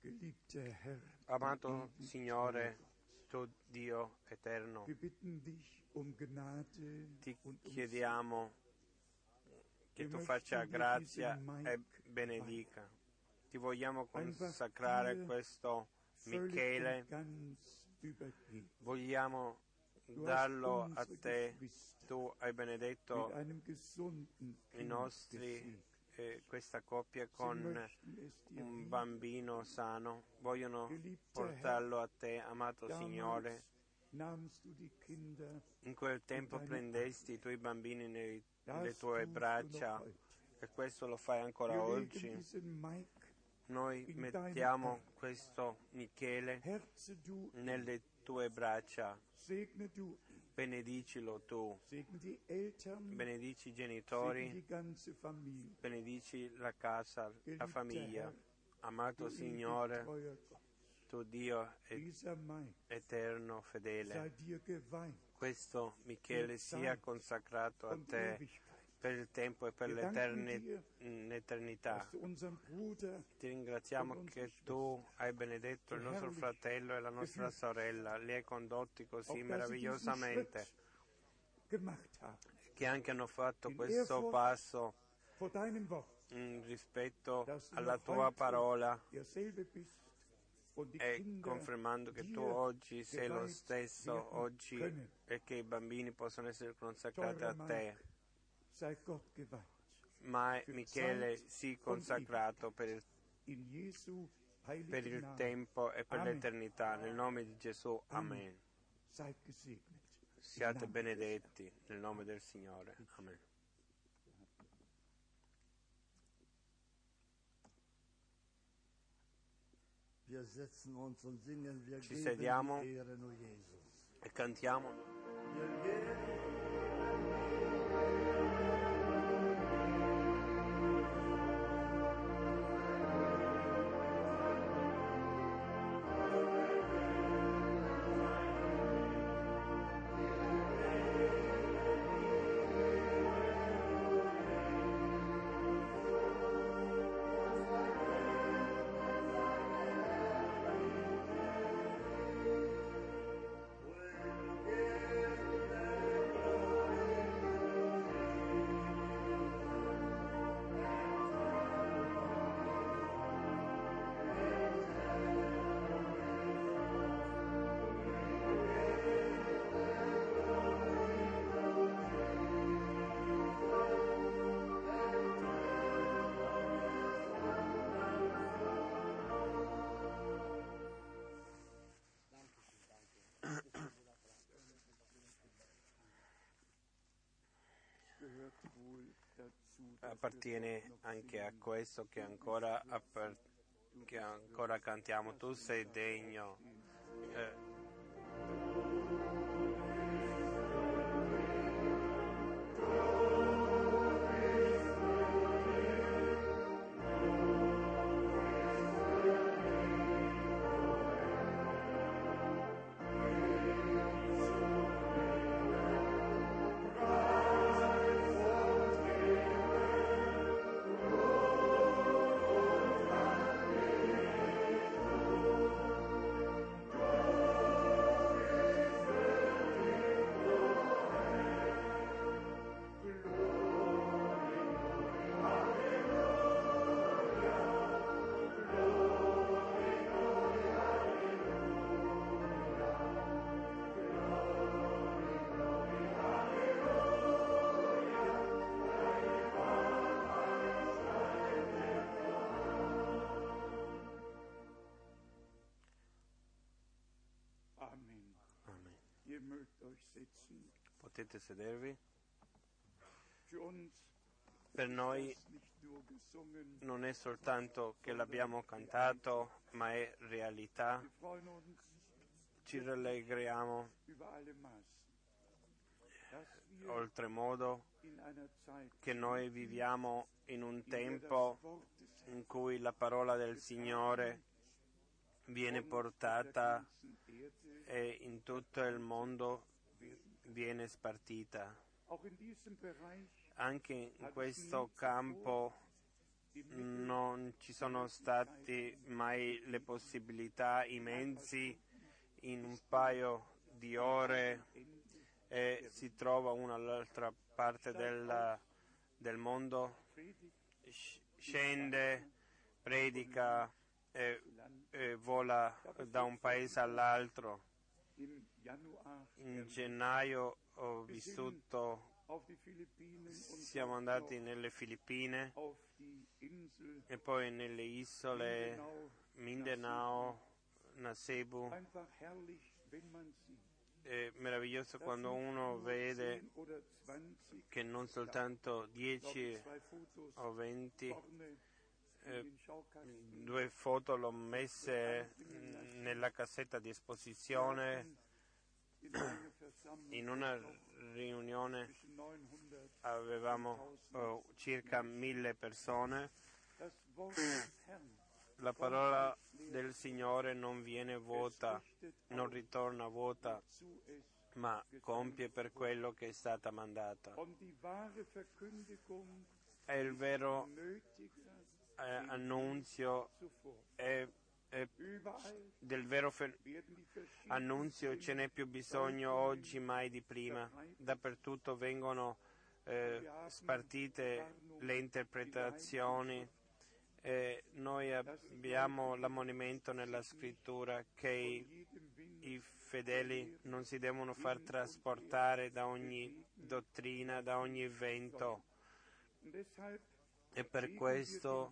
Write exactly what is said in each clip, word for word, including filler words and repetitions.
Amato Signore, tu Dio eterno, ti chiediamo che tu faccia grazia e benedica. Ti vogliamo consacrare questo Michele, vogliamo darlo a te. Tu hai benedetto i nostri, eh, questa coppia con un bambino sano, vogliono portarlo a te, amato Signore. In quel tempo prendesti i tuoi bambini nei, nelle tue braccia e questo lo fai ancora oggi. Noi mettiamo questo Michele nelle tue braccia. Benedicilo tu, benedici i genitori, benedici la casa, la famiglia. Amato Signore, tu Dio eterno, fedele, questo Michele sia consacrato a te per il tempo e per l'eternità. Ti ringraziamo che tu hai benedetto il nostro fratello e la nostra sorella, li hai condotti così meravigliosamente, che anche hanno fatto questo passo in rispetto alla tua parola e confermando che tu oggi sei lo stesso oggi e che i bambini possono essere consacrati a te. Ma Michele sii consacrato per il, per il tempo e per l'eternità. Nel nome di Gesù, amen. Siate benedetti nel nome del Signore. Amen. Ci sediamo e cantiamo. Appartiene anche a questo che ancora, appar- che ancora cantiamo. Tu sei degno. Eh. Potete sedervi. Per noi non è soltanto che l'abbiamo cantato, ma è realtà. Ci rallegriamo oltremodo che noi viviamo in un tempo in cui la parola del Signore viene portata e in tutto il mondo viene spartita. Anche in questo campo non ci sono stati mai le possibilità, i mezzi, in un paio di ore e si trova una all'altra parte del, del mondo, scende, predica e, e vola da un paese all'altro. In gennaio ho vissuto, siamo andati nelle Filippine e poi nelle isole Mindanao, Nasebu. È meraviglioso quando uno vede che non soltanto dieci o venti, eh, due foto l'ho messe nella cassetta di esposizione. In una riunione avevamo oh, circa mille persone. La parola del Signore non viene vuota, non ritorna vuota, ma compie per quello che è stata mandata. E il vero eh, annunzio è, è del vero fe- annunzio ce n'è più bisogno oggi mai di prima. Dappertutto vengono eh, spartite le interpretazioni. E noi abbiamo l'ammonimento nella scrittura che i, i fedeli non si devono far trasportare da ogni dottrina, da ogni vento. E per questo,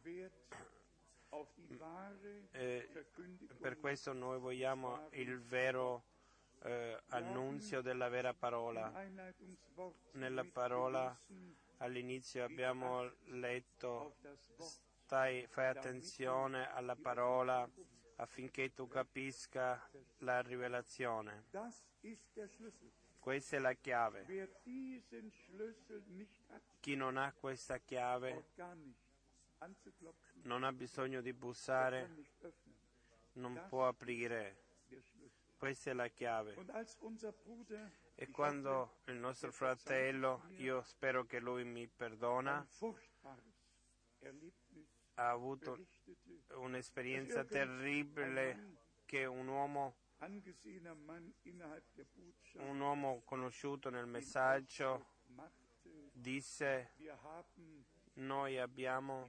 eh, per questo noi vogliamo il vero eh, annunzio della vera parola. Nella parola all'inizio abbiamo letto: Stai, fai attenzione alla parola affinché tu capisca la rivelazione. Questa è la chiave. Chi non ha questa chiave non ha bisogno di bussare, non può aprire. Questa è la chiave. E quando il nostro fratello, io spero che lui mi perdona, ha avuto un'esperienza terribile che un uomo, un uomo conosciuto nel messaggio disse: noi abbiamo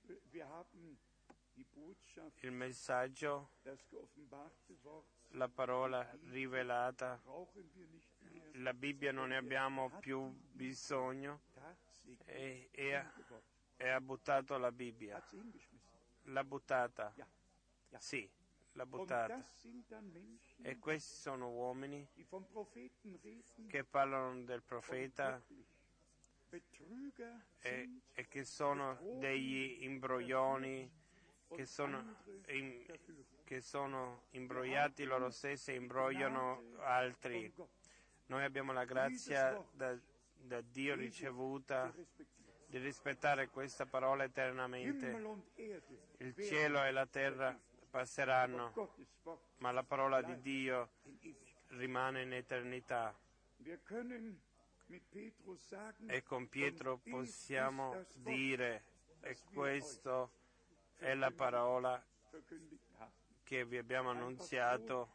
il messaggio, la parola rivelata, la Bibbia non ne abbiamo più bisogno, e, e, ha, e ha buttato la Bibbia. L'ha buttata. Sì, l'ha buttata. E questi sono uomini che parlano del profeta e, e che sono degli imbroglioni, che sono, in, che sono imbrogliati loro stessi e imbrogliano altri. Noi abbiamo la grazia da, da Dio ricevuta di rispettare questa parola eternamente. Il cielo e la terra passeranno, ma la parola di Dio rimane in eternità. E con Pietro possiamo dire, e questa è la parola che vi abbiamo annunziato.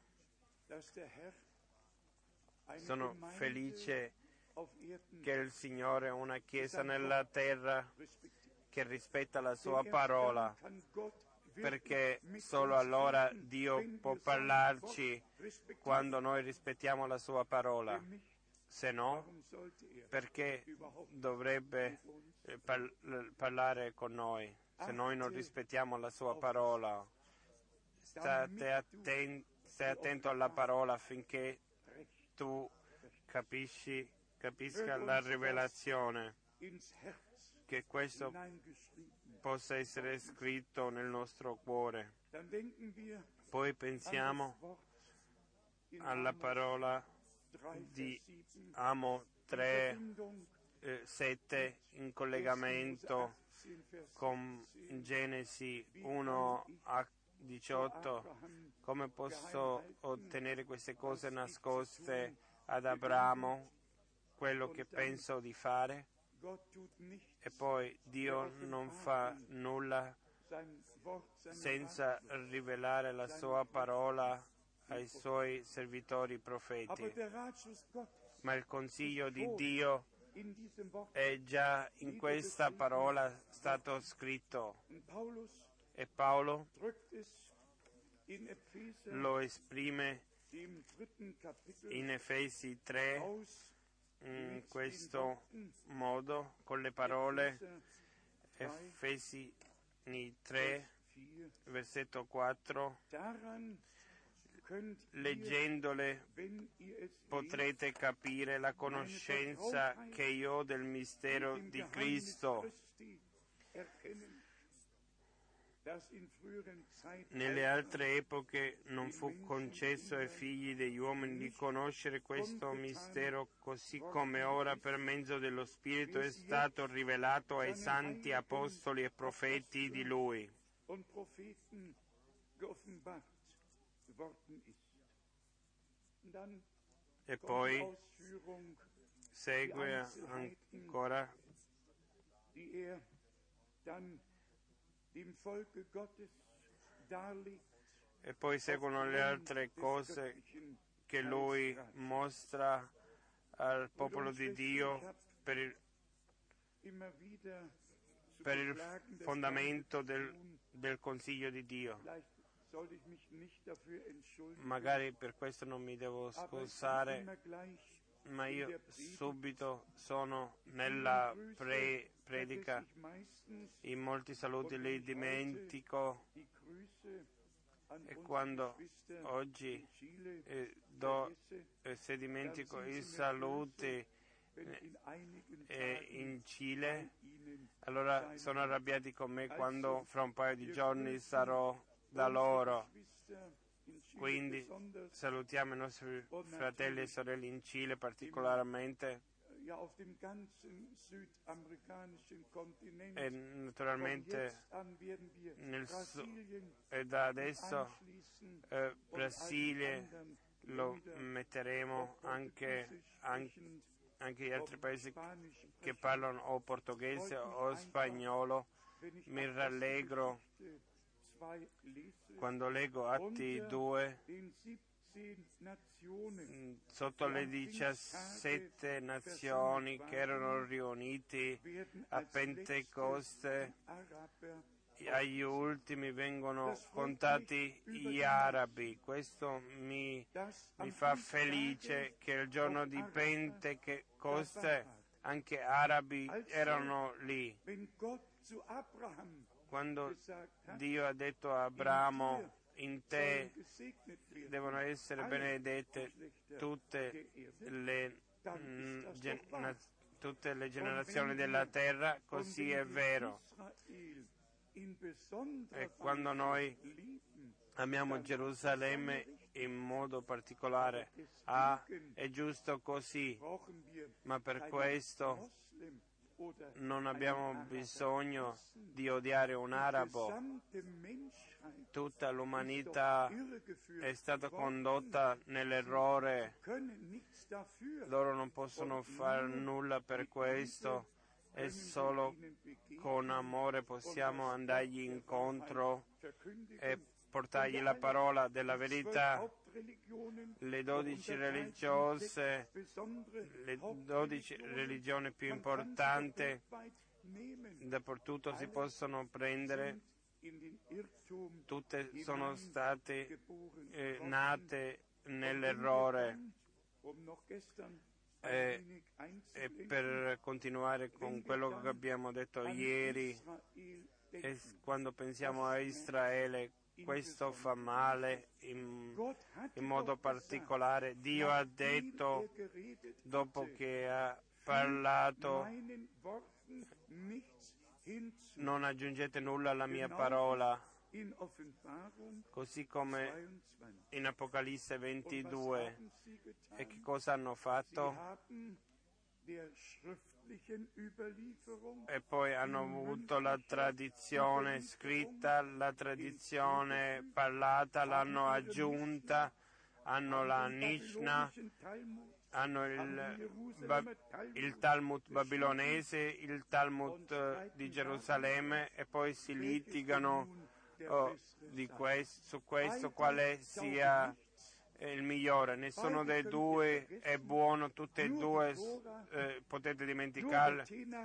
Sono felice che il Signore ha una Chiesa nella terra che rispetta la sua parola, perché solo allora Dio può parlarci quando noi rispettiamo la sua parola. Se no, perché dovrebbe par- parlare con noi se noi non rispettiamo la sua parola? State atten- stai attento alla parola affinché tu capisci, capisca la rivelazione, che questo possa essere scritto nel nostro cuore. Poi pensiamo alla parola di Amo tre, sette in collegamento con Genesi uno a diciotto. Come posso ottenere queste cose nascoste ad Abramo, quello che penso di fare? E poi Dio non fa nulla senza rivelare la sua parola ai suoi servitori profeti. Ma il consiglio di Dio è già in questa parola stato scritto, e Paolo lo esprime in Efesi tre in questo modo, con le parole Efesi tre, versetto quattro. Leggendole potrete capire la conoscenza che io ho del mistero di Cristo. Nelle altre epoche non fu concesso ai figli degli uomini di conoscere questo mistero, così come ora per mezzo dello Spirito è stato rivelato ai santi apostoli e profeti di Lui. E poi segue ancora e poi seguono le altre cose che lui mostra al popolo di Dio per il, per il fondamento del, del consiglio di Dio. Magari per questo non mi devo scusare, ma io subito sono nella pre- predica. In molti saluti li dimentico, e quando oggi eh, do, eh, se dimentico i saluti eh, in Cile, allora sono arrabbiati con me quando fra un paio di giorni sarò da loro. Quindi salutiamo i nostri fratelli e sorelle in Cile particolarmente, e naturalmente nel su- e da adesso eh, Brasile lo metteremo, anche, anche, anche gli altri paesi che parlano o portoghese o spagnolo. Mi rallegro quando leggo Atti due, sotto le diciassette nazioni che erano riuniti a Pentecoste, agli ultimi vengono contati gli arabi. Questo mi, mi fa felice che il giorno di Pentecoste anche arabi erano lì. Quando Dio ha detto a Abramo: in te devono essere benedette tutte le, mm, gen- na- tutte le generazioni della terra, così è vero. E quando noi amiamo Gerusalemme in modo particolare, ah, è giusto così, ma per questo non abbiamo bisogno di odiare un arabo. Tutta l'umanità è stata condotta nell'errore. Loro non possono fare nulla per questo, e solo con amore possiamo andargli incontro e portargli la parola della verità. Le dodici religiose, le dodici religioni più importanti dappertutto si possono prendere, tutte sono state eh, nate nell'errore. E, e per continuare con quello che abbiamo detto ieri, e quando pensiamo a Israele, questo fa male in, in modo particolare. Dio ha detto, dopo che ha parlato: non aggiungete nulla alla mia parola, così come in Apocalisse ventidue. E che cosa hanno fatto? E poi hanno avuto la tradizione scritta, la tradizione parlata, l'hanno aggiunta, hanno la Mishnah, hanno il, ba, il Talmud babilonese, il Talmud di Gerusalemme, e poi si litigano oh, di questo, su questo quale sia il migliore. Nessuno dei due è buono, tutte e due eh, potete dimenticarle.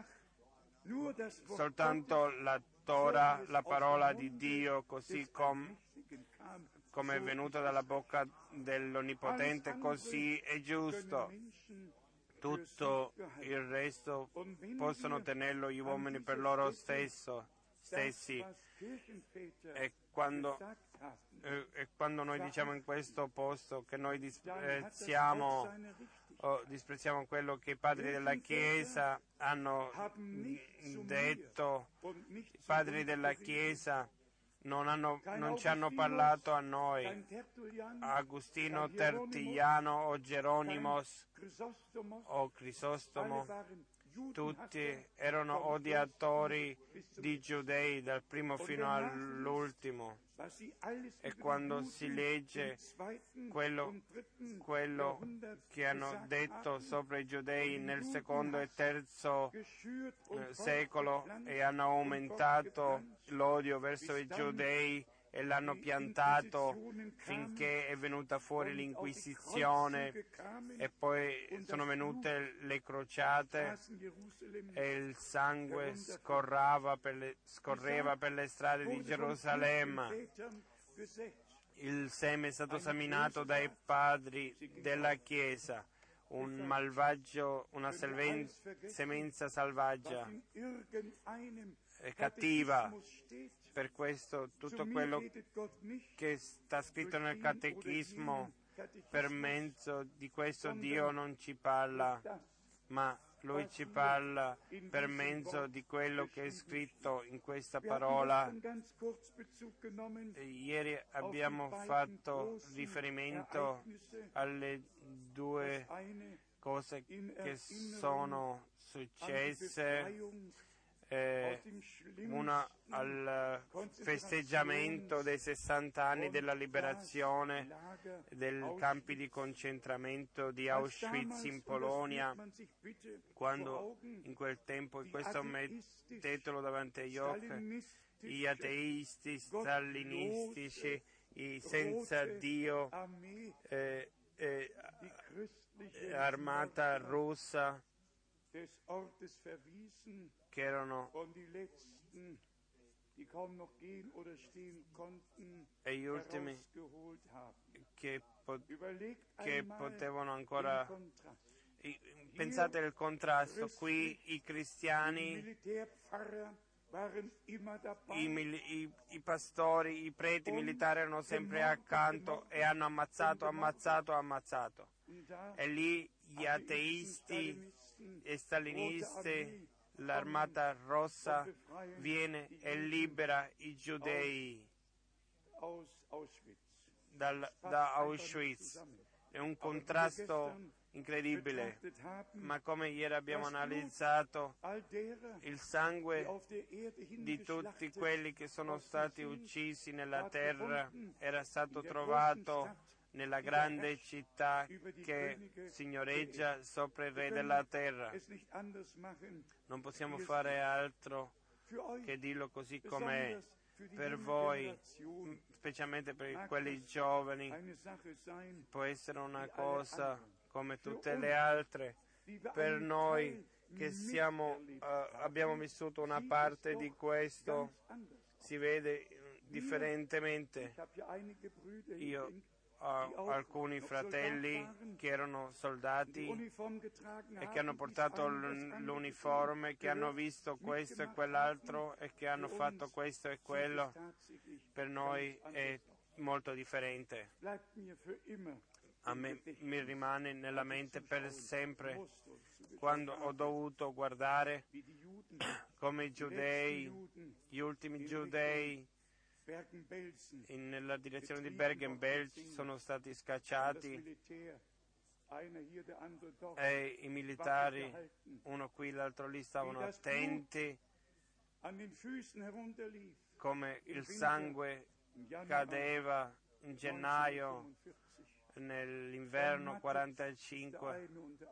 Soltanto la Torah, la parola di Dio, così com, come è venuta dalla bocca dell'Onnipotente, così è giusto. Tutto il resto possono tenerlo gli uomini per loro stesso, stessi. E quando, eh, e quando noi diciamo in questo posto che noi disprezziamo, oh, disprezziamo quello che i padri della Chiesa hanno detto, i padri della Chiesa non, hanno, non ci hanno parlato a noi, Agostino, Tertulliano o Geronimos o Crisostomo, tutti erano odiatori di giudei dal primo fino all'ultimo. E quando si legge quello, quello che hanno detto sopra i giudei nel secondo e terzo eh, secolo, e hanno aumentato l'odio verso i giudei e l'hanno piantato finché è venuta fuori l'Inquisizione, e poi sono venute le crociate e il sangue scorrava per le, scorreva per le strade di Gerusalemme. Il seme è stato seminato dai padri della Chiesa, un malvagio, una selven, semenza selvaggia e cattiva. Per questo tutto quello che sta scritto nel Catechismo, per mezzo di questo Dio non ci parla, ma Lui ci parla per mezzo di quello che è scritto in questa parola. Ieri abbiamo fatto riferimento alle due cose che sono successe. Eh, una al festeggiamento dei sessanta anni della liberazione dei campi di concentramento di Auschwitz in Polonia, quando in quel tempo, e questo mettetelo davanti agli occhi, gli ateisti stalinistici, i senza Dio, eh, eh, armata russa, che erano e gli ultimi che, po- che potevano ancora. Pensate al contrasto, qui i cristiani, i, i, i pastori, i preti militari erano sempre accanto e hanno ammazzato, ammazzato, ammazzato. E lì gli ateisti e stalinisti, l'armata rossa viene e libera i giudei dal, da Auschwitz. È un contrasto incredibile, ma come ieri abbiamo analizzato, il sangue di tutti quelli che sono stati uccisi nella terra era stato trovato nella grande città che signoreggia sopra il Re della terra. Non possiamo fare altro che dirlo così com'è. Per voi, specialmente per quelli giovani, può essere una cosa come tutte le altre. Per noi che siamo, uh, abbiamo vissuto una parte di questo, si vede differentemente. Io ho alcuni fratelli che erano soldati e che hanno portato l'uniforme, che hanno visto questo e quell'altro e che hanno fatto questo e quello. Per noi è molto differente. A me mi rimane nella mente per sempre quando ho dovuto guardare come i giudei, gli ultimi giudei, in, nella direzione di Bergen-Belsen sono stati scacciati e i militari, uno qui l'altro lì, stavano attenti come il sangue cadeva in gennaio nell'inverno quarantacinque.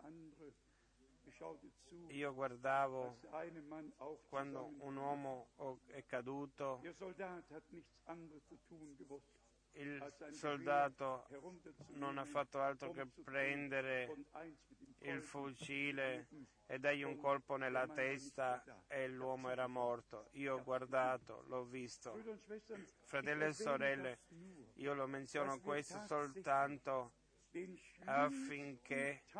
Io guardavo quando un uomo è caduto, il soldato non ha fatto altro che prendere il fucile e dargli un colpo nella testa e l'uomo era morto. Io ho guardato, l'ho visto. Fratelli e sorelle, io lo menziono questo soltanto affinché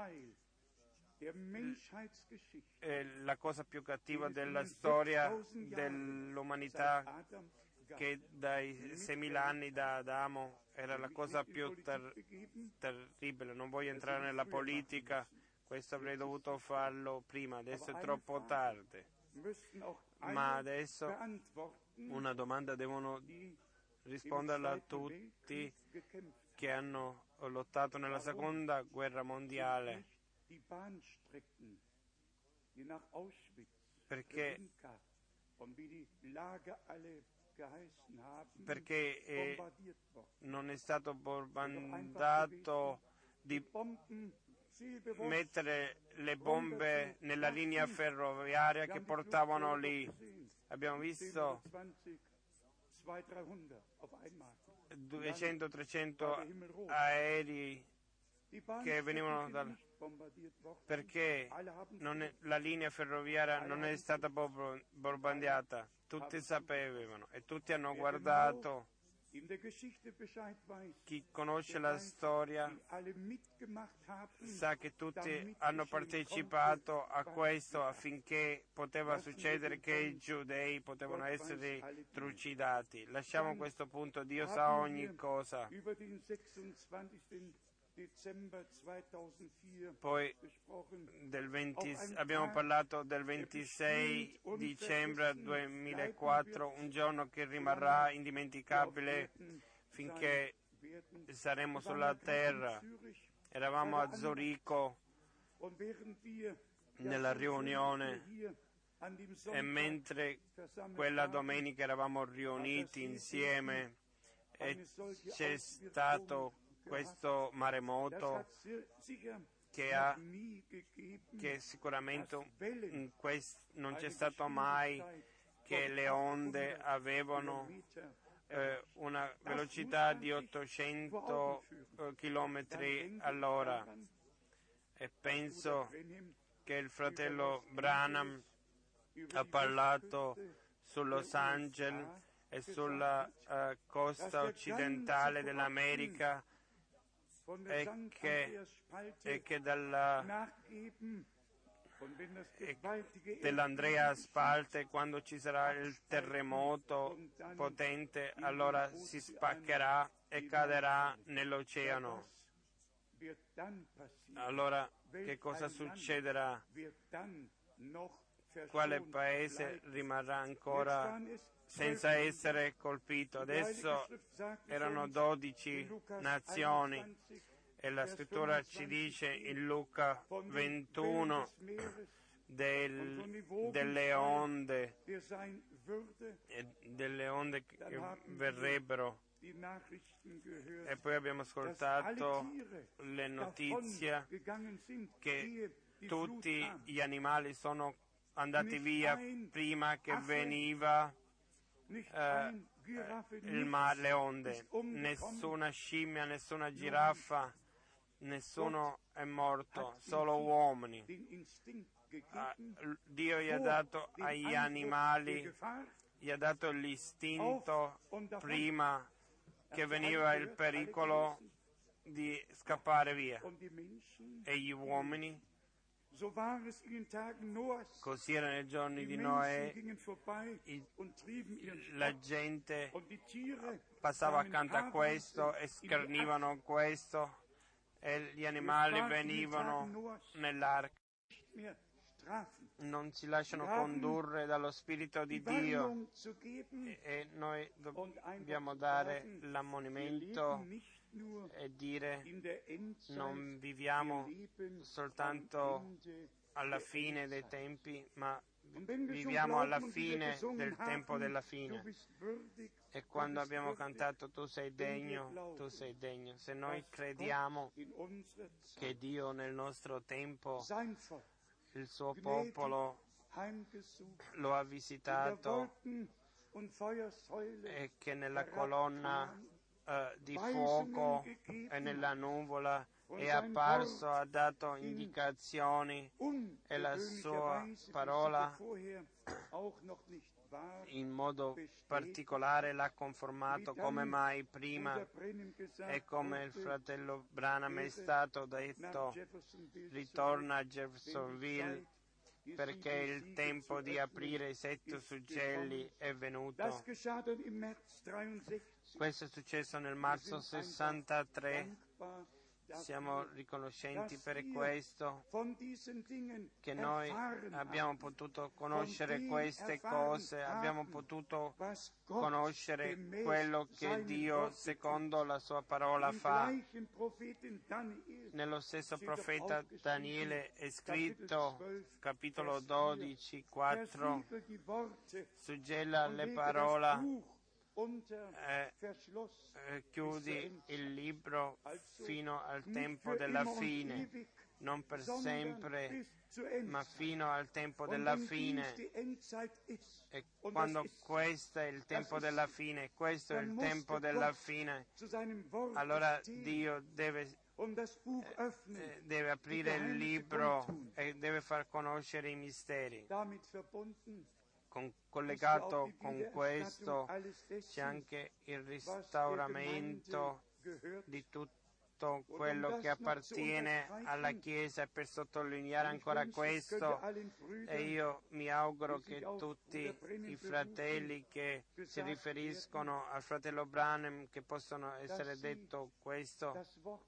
eh, la cosa più cattiva della storia dell'umanità, che dai seimila anni da Adamo era la cosa più ter- terribile. Non voglio entrare nella politica, questo avrei dovuto farlo prima, adesso è troppo tardi. Ma adesso una domanda devono risponderla a tutti che hanno lottato nella seconda guerra mondiale. Perché perché eh, non è stato bombardato di mettere le bombe nella linea ferroviaria che portavano lì. Abbiamo visto duecento trecento aerei che venivano dal... perché non è, la linea ferroviaria non è stata bombardiata. Tutti sapevano e tutti hanno guardato. Chi conosce la storia sa che tutti hanno partecipato a questo affinché poteva succedere che i giudei potevano essere trucidati. Lasciamo questo punto, Dio sa ogni cosa. Poi del venti, abbiamo parlato del ventisei dicembre duemilaquattro, un giorno che rimarrà indimenticabile finché saremo sulla terra. Eravamo a Zurigo nella riunione e mentre quella domenica eravamo riuniti insieme e c'è stato questo maremoto che, ha, che sicuramente in quest, non c'è stato mai che le onde avevano eh, una velocità di ottocento eh, chilometri all'ora e penso che il fratello Branham ha parlato su Los Angeles e sulla uh, costa occidentale dell'America e che, e che dalla, e dell'Andrea Spalte, quando ci sarà il terremoto potente, allora si spaccherà e caderà nell'oceano. Allora che cosa succederà? Quale paese rimarrà ancora senza essere colpito? Adesso erano dodici nazioni e la scrittura ci dice in Luca ventuno del, delle onde e delle onde che verrebbero. E poi abbiamo ascoltato le notizie che tutti gli animali sono andati via prima che veniva eh, il mare, le onde. Nessuna scimmia, nessuna giraffa, nessuno è morto, solo uomini. Ah, Dio gli ha dato agli animali, gli ha dato l'istinto prima che veniva il pericolo di scappare via. E gli uomini, così era nei giorni di Noè, i, la gente passava accanto a questo e schernivano questo e gli animali venivano nell'arca. Non si lasciano condurre dallo Spirito di Dio e, e noi dobbiamo dare l'ammonimento e dire non viviamo soltanto alla fine dei tempi, ma viviamo alla fine del tempo della fine. E quando abbiamo cantato tu sei degno, tu sei degno, se noi crediamo che Dio nel nostro tempo, il suo popolo lo ha visitato e che nella colonna eh, di fuoco e nella nuvola è apparso, ha dato indicazioni e la sua parola in modo particolare l'ha conformato come mai prima, e come il fratello Branham è stato detto, ritorna a Jeffersonville perché il tempo di aprire i sette suggelli è venuto. Questo è successo nel marzo sessantatré. Siamo riconoscenti per questo, che noi abbiamo potuto conoscere queste cose, abbiamo potuto conoscere quello che Dio, secondo la sua parola, fa. Nello stesso profeta Daniele è scritto, capitolo dodici, quattro, suggella le parole, eh, eh, chiudi il libro fino al tempo della fine, non per sempre, ma fino al tempo della fine. E quando questo è il tempo della fine, questo è il tempo della fine, allora Dio deve, eh, deve aprire il libro e deve far conoscere i misteri. Con, collegato con questo c'è anche il restauramento di tutto quello che appartiene alla Chiesa, e per sottolineare ancora questo, e io mi auguro che tutti i fratelli che si riferiscono al fratello Branham, che possono essere detto questo,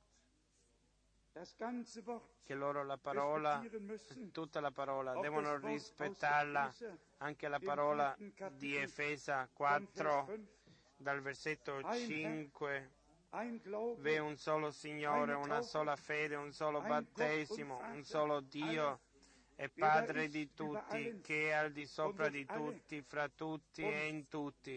che loro la parola, tutta la parola, devono rispettarla, anche la parola di Efesa quattro, dal versetto cinque, v'è un solo Signore, una sola fede, un solo battesimo, un solo Dio e Padre di tutti, che è al di sopra di tutti, fra tutti e in tutti.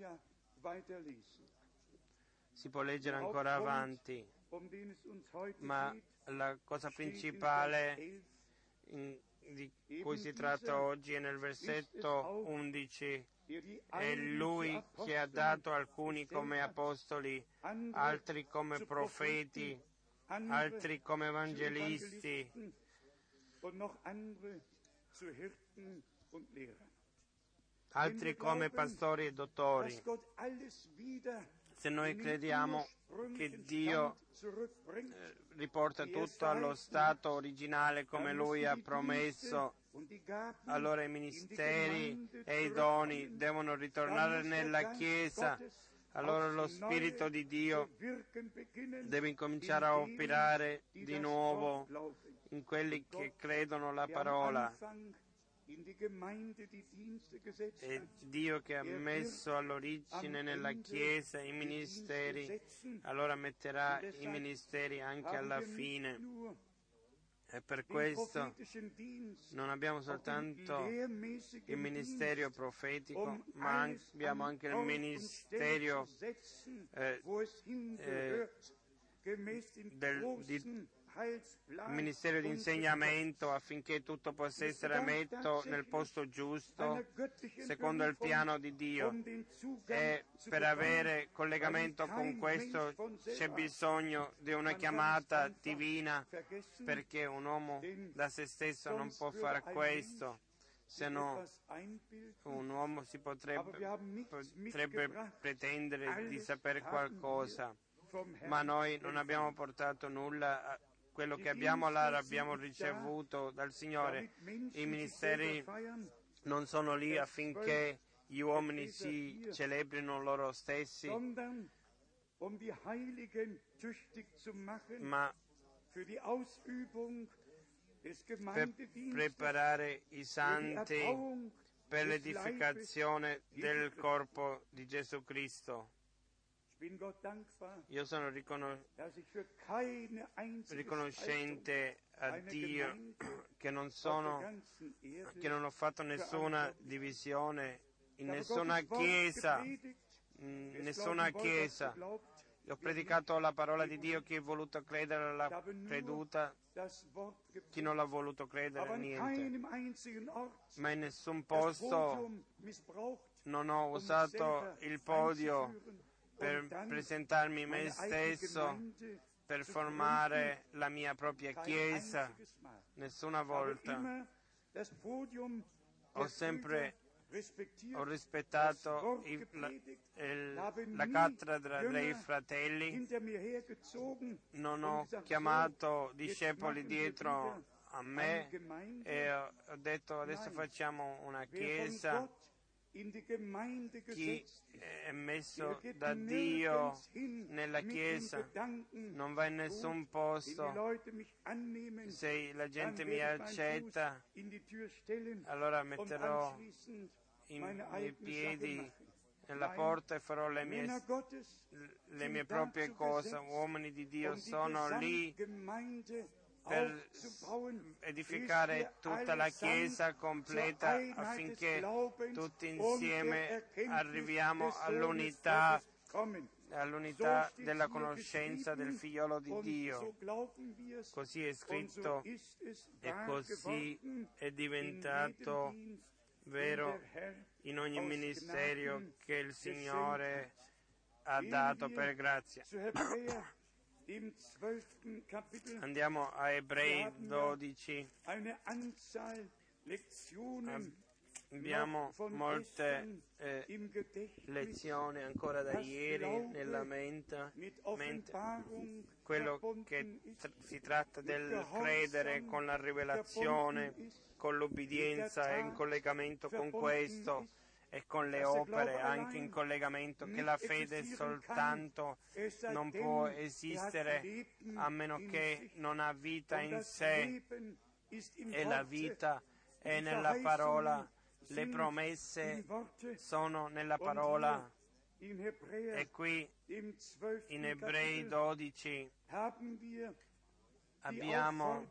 Si può leggere ancora avanti, ma la cosa principale in, di cui si tratta oggi è nel versetto undici. È Lui che ha dato alcuni come apostoli, altri come profeti, altri come evangelisti, altri come pastori e dottori. Se noi crediamo che Dio eh, riporta tutto allo stato originale come Lui ha promesso, allora i ministeri e i doni devono ritornare nella Chiesa. Allora lo Spirito di Dio deve incominciare a operare di nuovo in quelli che credono la parola. È Dio che ha messo all'origine nella Chiesa i ministeri, allora metterà i ministeri anche alla fine. E per questo non abbiamo soltanto il ministero profetico, ma abbiamo anche il ministero eh, eh, del, di, il ministero di insegnamento, affinché tutto possa essere messo nel posto giusto secondo il piano di Dio. E per avere collegamento con questo c'è bisogno di una chiamata divina, perché un uomo da se stesso non può fare questo, se no un uomo si potrebbe, potrebbe pretendere di sapere qualcosa, ma noi non abbiamo portato nulla. Quello che abbiamo là l'abbiamo ricevuto dal Signore. I ministeri non sono lì affinché gli uomini si celebrino loro stessi, ma per preparare i santi per l'edificazione del corpo di Gesù Cristo. Io sono riconos- riconoscente a Dio che non sono, che non ho fatto nessuna divisione in nessuna chiesa nessuna chiesa. Ho predicato la parola di Dio, chi è voluto credere l'ha creduta, chi non l'ha voluto credere niente. Ma in nessun posto non ho usato il podio per presentarmi me stesso, per formare la mia propria chiesa, nessuna volta. Ho sempre ho rispettato il, la, il, la cattedra dei fratelli, non ho chiamato discepoli dietro a me e ho detto adesso facciamo una chiesa. Chi è messo da Dio nella chiesa non va in nessun posto. Se la gente mi accetta, allora metterò i miei piedi nella porta e farò le mie, le mie proprie cose. Uomini di Dio sono lì per edificare tutta la Chiesa completa affinché tutti insieme arriviamo all'unità, all'unità della conoscenza del Figliolo di Dio. Così è scritto e così è diventato vero in ogni ministero che il Signore ha dato per grazia. Andiamo a Ebrei dodici. Abbiamo molte eh, lezioni ancora da ieri nella mente, mente. Quello che tr- si tratta del credere con la rivelazione, con l'obbedienza e in collegamento con questo e con le opere, anche in collegamento, che la fede soltanto non può esistere a meno che non ha vita in sé, e la vita è nella parola, le promesse sono nella parola. E qui in Ebrei dodici abbiamo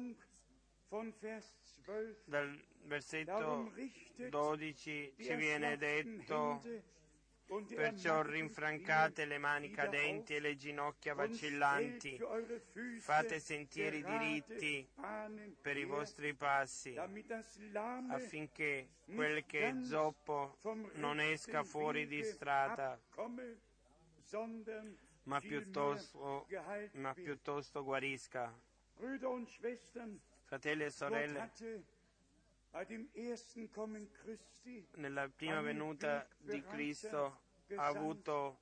dal versetto dodici ci viene detto: perciò rinfrancate le mani cadenti e le ginocchia vacillanti, fate sentieri diritti per i vostri passi, affinché quel che è zoppo non esca fuori di strada, ma piuttosto, ma piuttosto guarisca. Fratelli e sorelle, nella prima venuta di Cristo ha avuto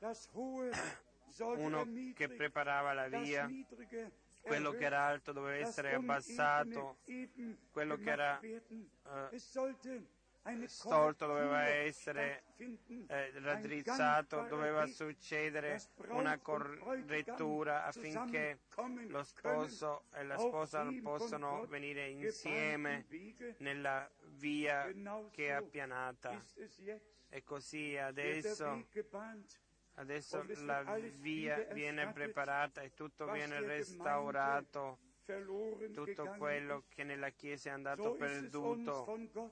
uno che preparava la via, quello che era alto doveva essere abbassato, quello che era uh, storto doveva essere eh, raddrizzato, doveva succedere una correttura affinché lo sposo e la sposa possano venire insieme nella via che è appianata. E così adesso, adesso la via viene preparata e tutto viene restaurato, tutto quello che nella Chiesa è andato perduto.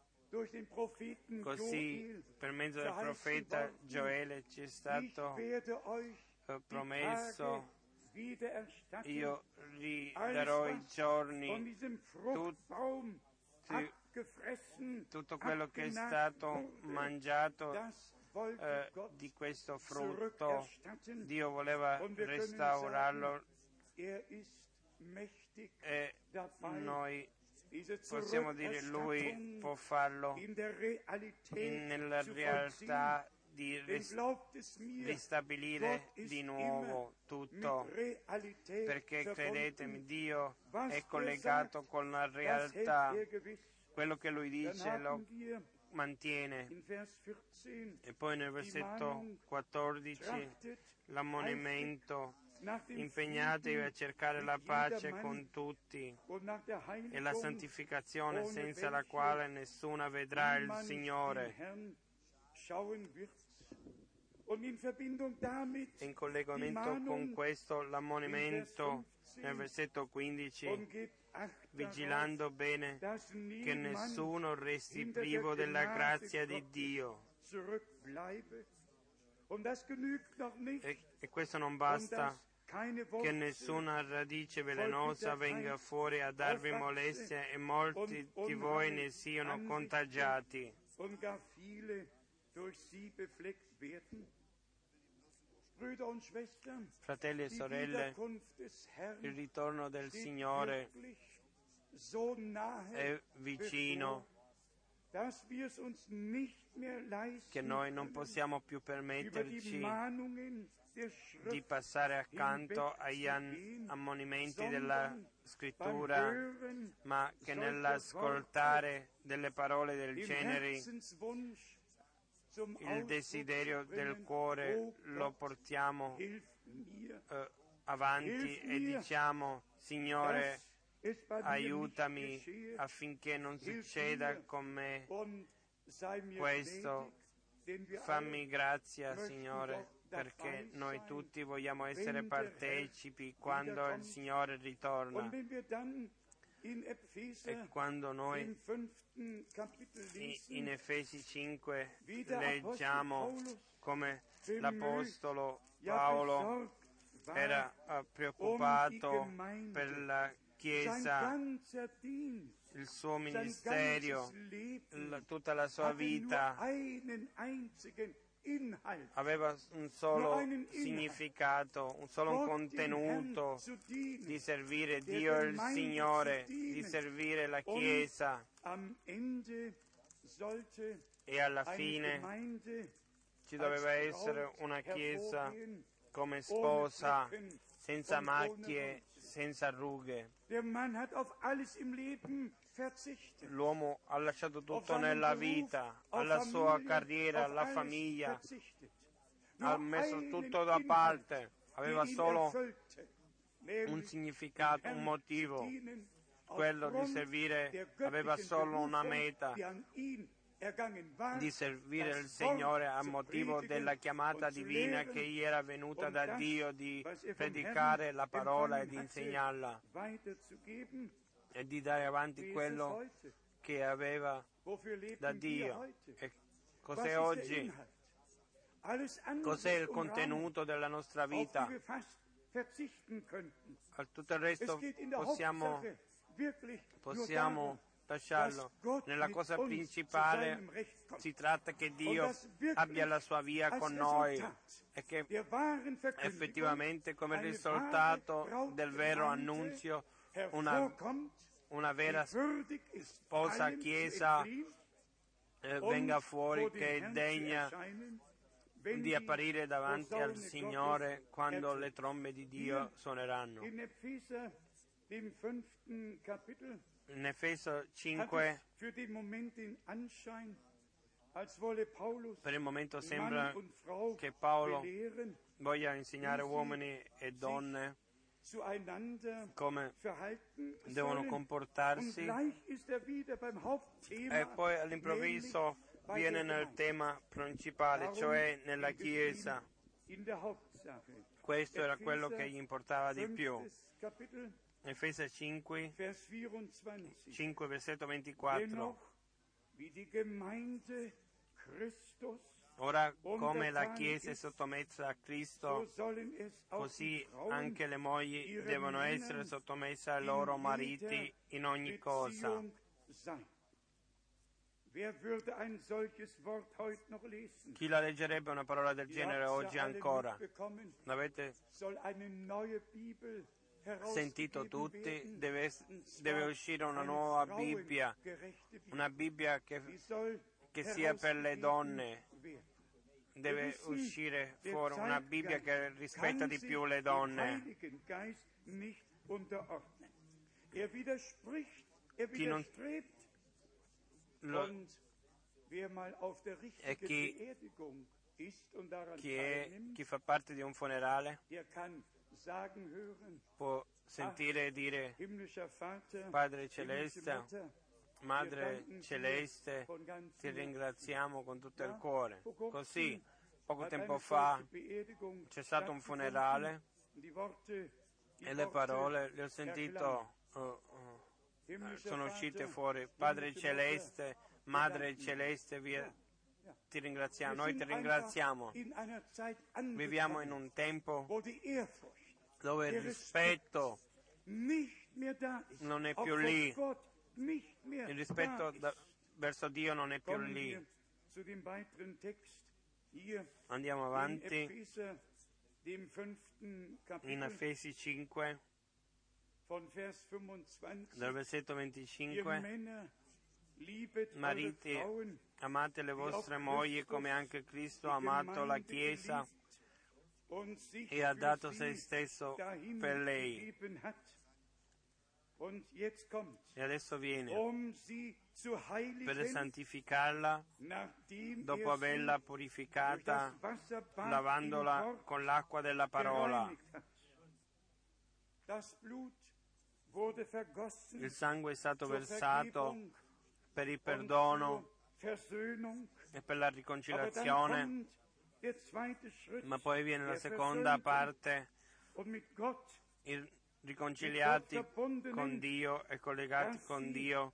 Così per mezzo del profeta Gioele ci è stato eh, promesso: io ridarò i giorni, tutti, tutto quello che è stato mangiato eh, di questo frutto. Dio voleva restaurarlo e noi possiamo dire Lui può farlo in, nella realtà di ristabilire di nuovo tutto, perché credetemi, Dio è collegato con la realtà, quello che Lui dice lo mantiene. E poi nel versetto quattordici l'ammonimento: impegnatevi a cercare la pace con tutti e la santificazione, senza la quale nessuna vedrà il Signore. In collegamento con questo l'ammonimento nel versetto quindici: vigilando bene che nessuno resti privo della grazia di Dio. E, e questo non basta, che nessuna radice velenosa venga fuori a darvi molestia e molti di voi ne siano contagiati. Fratelli e sorelle, il ritorno del Signore è vicino, che noi non possiamo più permetterci di passare accanto agli ammonimenti della Scrittura, ma che nell'ascoltare delle parole del genere il desiderio del cuore lo portiamo eh, avanti e diciamo: Signore, aiutami affinché non succeda con me questo. Fammi grazia, Signore, perché noi tutti vogliamo essere partecipi quando il Signore ritorna. E quando noi in Efesi cinque leggiamo come l'Apostolo Paolo era preoccupato per la Chiesa, il suo ministero, la, tutta la sua vita aveva un solo significato, un solo contenuto, di servire Dio il Signore, di servire la Chiesa, e alla fine ci doveva essere una Chiesa come sposa, senza macchie, senza rughe. L'uomo ha lasciato tutto nella vita, alla sua carriera, alla famiglia, ha messo tutto da parte, aveva solo un significato, un motivo, quello di servire, aveva solo una meta, di servire il Signore a motivo della chiamata divina che gli era venuta da Dio, di predicare la parola e di insegnarla e di dare avanti quello che aveva da Dio. E cos'è oggi? Cos'è il contenuto della nostra vita? A tutto il resto possiamo, possiamo lasciarlo. Nella cosa principale si tratta che Dio abbia la sua via con noi e che effettivamente come risultato del vero annunzio una, una vera sposa chiesa eh, venga fuori, che è degna di apparire davanti al Signore quando le trombe di Dio suoneranno. In Efeso cinque, per il momento sembra che Paolo voglia insegnare uomini e donne come devono comportarsi, e poi all'improvviso viene nel tema principale, cioè nella Chiesa. Questo era quello che gli importava di più. Efesi cinque, cinque, versetto ventiquattro. Ora, come la Chiesa è sottomessa a Cristo, così anche le mogli devono essere sottomesse ai loro mariti in ogni cosa. Chi la leggerebbe una parola del genere oggi ancora? L'avete sentito tutti? Deve, deve uscire una nuova Bibbia, una Bibbia che, che sia per le donne. Deve uscire fuori una Bibbia che rispetta di più le donne. Chi non lo, e chi, chi, è, chi fa parte di un funerale può sentire dire: Padre Celeste, Madre Celeste, ti ringraziamo con tutto il cuore. Così, poco tempo fa c'è stato un funerale e le parole le ho sentito, uh, uh, sono uscite fuori: Padre Celeste, Madre Celeste, vi ti ringraziamo, noi ti ringraziamo. Viviamo in un tempo dove il rispetto non è più lì, il rispetto da, verso Dio non è più lì. Andiamo avanti in Efesi cinque, dal versetto venticinque. Mariti, amate le vostre mogli come anche Cristo ha amato la Chiesa e ha dato se stesso per lei. E adesso viene per santificarla dopo averla purificata, lavandola con l'acqua della parola. Il sangue è stato versato per il perdono e per la riconciliazione, ma poi viene la seconda parte, il riconciliati con Dio e collegati con Dio,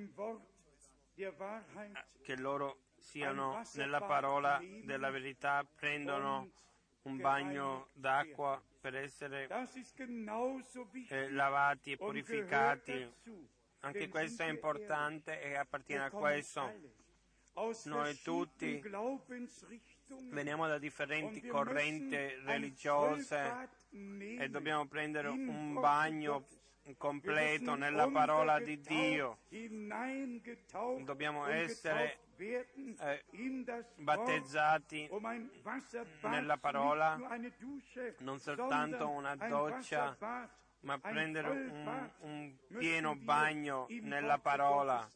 che loro siano nella parola della verità, prendono un bagno d'acqua per essere eh, lavati e purificati. Anche questo è importante e appartiene a questo. Noi tutti veniamo da differenti correnti religiose e dobbiamo prendere un bagno completo nella parola di Dio. Dobbiamo essere eh, battezzati nella parola, non soltanto una doccia, ma prendere un, un pieno bagno nella parola